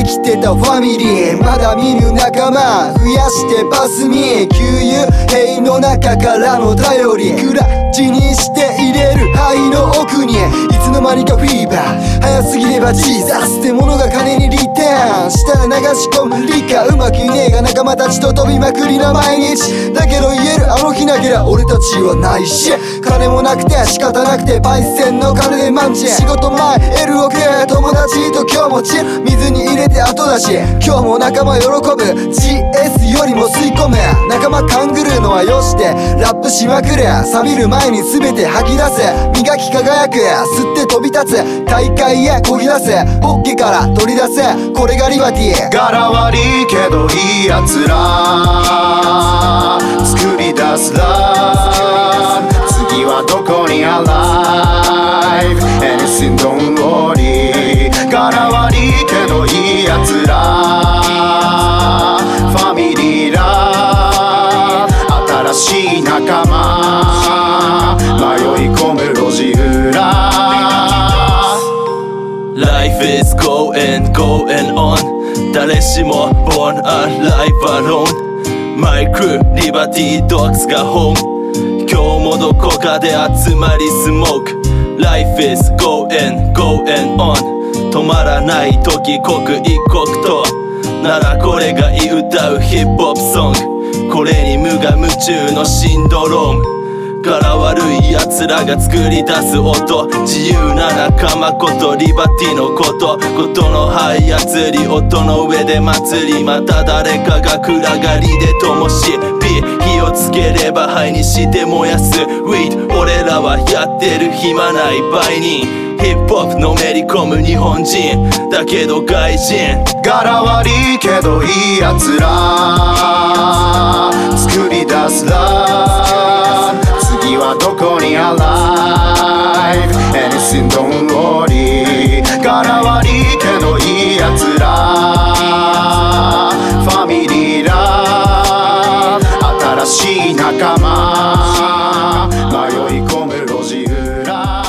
できてたファミリー、まだ見ぬ仲間増やしてパスミ、給油塀の中からの頼り、クラッチにして入れる肺の奥に、いつの間にかフィーバー、早すぎればジーザスってものが金にリターンしたら流し込む理科、うまくいねえが仲間たちと飛びまくりな毎日だけど言える、あの日なけりゃ俺たちはないし、金もなくて仕方なくてパイセンの金でマンチ、仕事前 エルオーケー 友達と今日もチル、水に入れて後出し、今日も仲間喜ぶ ジーエス よりも吸い込め、仲間勘ぐるのはよしてラップしまくれ、錆びる前に全て吐き出せ、磨き輝く吸って飛び立つ大海へこぎ出せ、ポッケから取り出せ、これがリバティ、 柄悪いけどいいやつら作り出すラブ、次はどこに Alive Anything don't worry、 柄悪いけどいいやつらファミリーラブ、新しい仲間迷い込む路地裏、 Life is going going on、 誰しも born alive alone、 My crew Liberty Dogs が本、今日もどこかで集まりスモーク、 Life is going going on、 止まらない時刻一刻とならこれがい歌うヒップホップソング、これに無我夢中のシンドローム、柄悪い奴らが作り出す音、自由な仲間ことリバティのこと、ことの這い操り音の上で祭り、また誰かが暗がりで灯し火、火をつければ灰にして燃やす Weed、 俺らはやってる暇ない売人、ヒップホップのめり込む日本人だけど外人、 柄悪いけどいいやつら作り出すラブ、次はどこに Alive Anything don't worry、 柄悪いけどいいやつらファミリーラブ、新しい仲間迷い込む路地裏、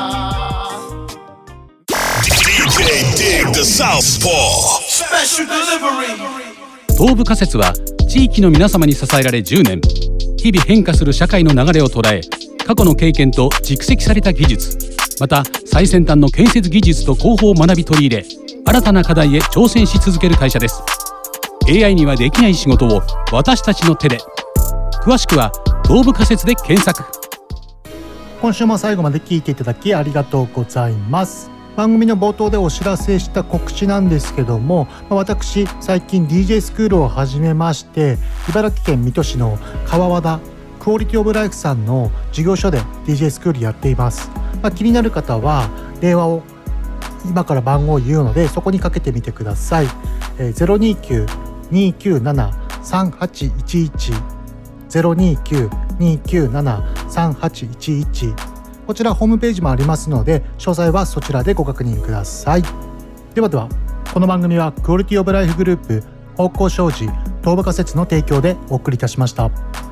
ディージェー Dig the Southpaw Special Delivery。 東部仮説は地域の皆様に支えられじゅうねん、日々変化する社会の流れを捉え、過去の経験と蓄積された技術、また最先端の建設技術と工法を学び取り入れ、新たな課題へ挑戦し続ける会社です。 エーアイ にはできない仕事を私たちの手で。詳しくは東部仮説で検索。 今週も最後まで聞いていただきありがとうございます。番組の冒頭でお知らせした告知なんですけども、私最近 ディージェー スクールを始めまして、茨城県水戸市の川和田クオリティオブライフさんの事業所で ディージェー スクールやっています。まあ、気になる方は電話を今から番号を言うのでそこにかけてみてください。えー、ゼロにきゅう にきゅうなな さんはちいちいち ゼロにきゅう にきゅうなな さんはちいちいち、こちらホームページもありますので詳細はそちらでご確認ください。ではでは、この番組はクオリティオブライフグループ、方向障子、東部仮説の提供でお送りいたしました。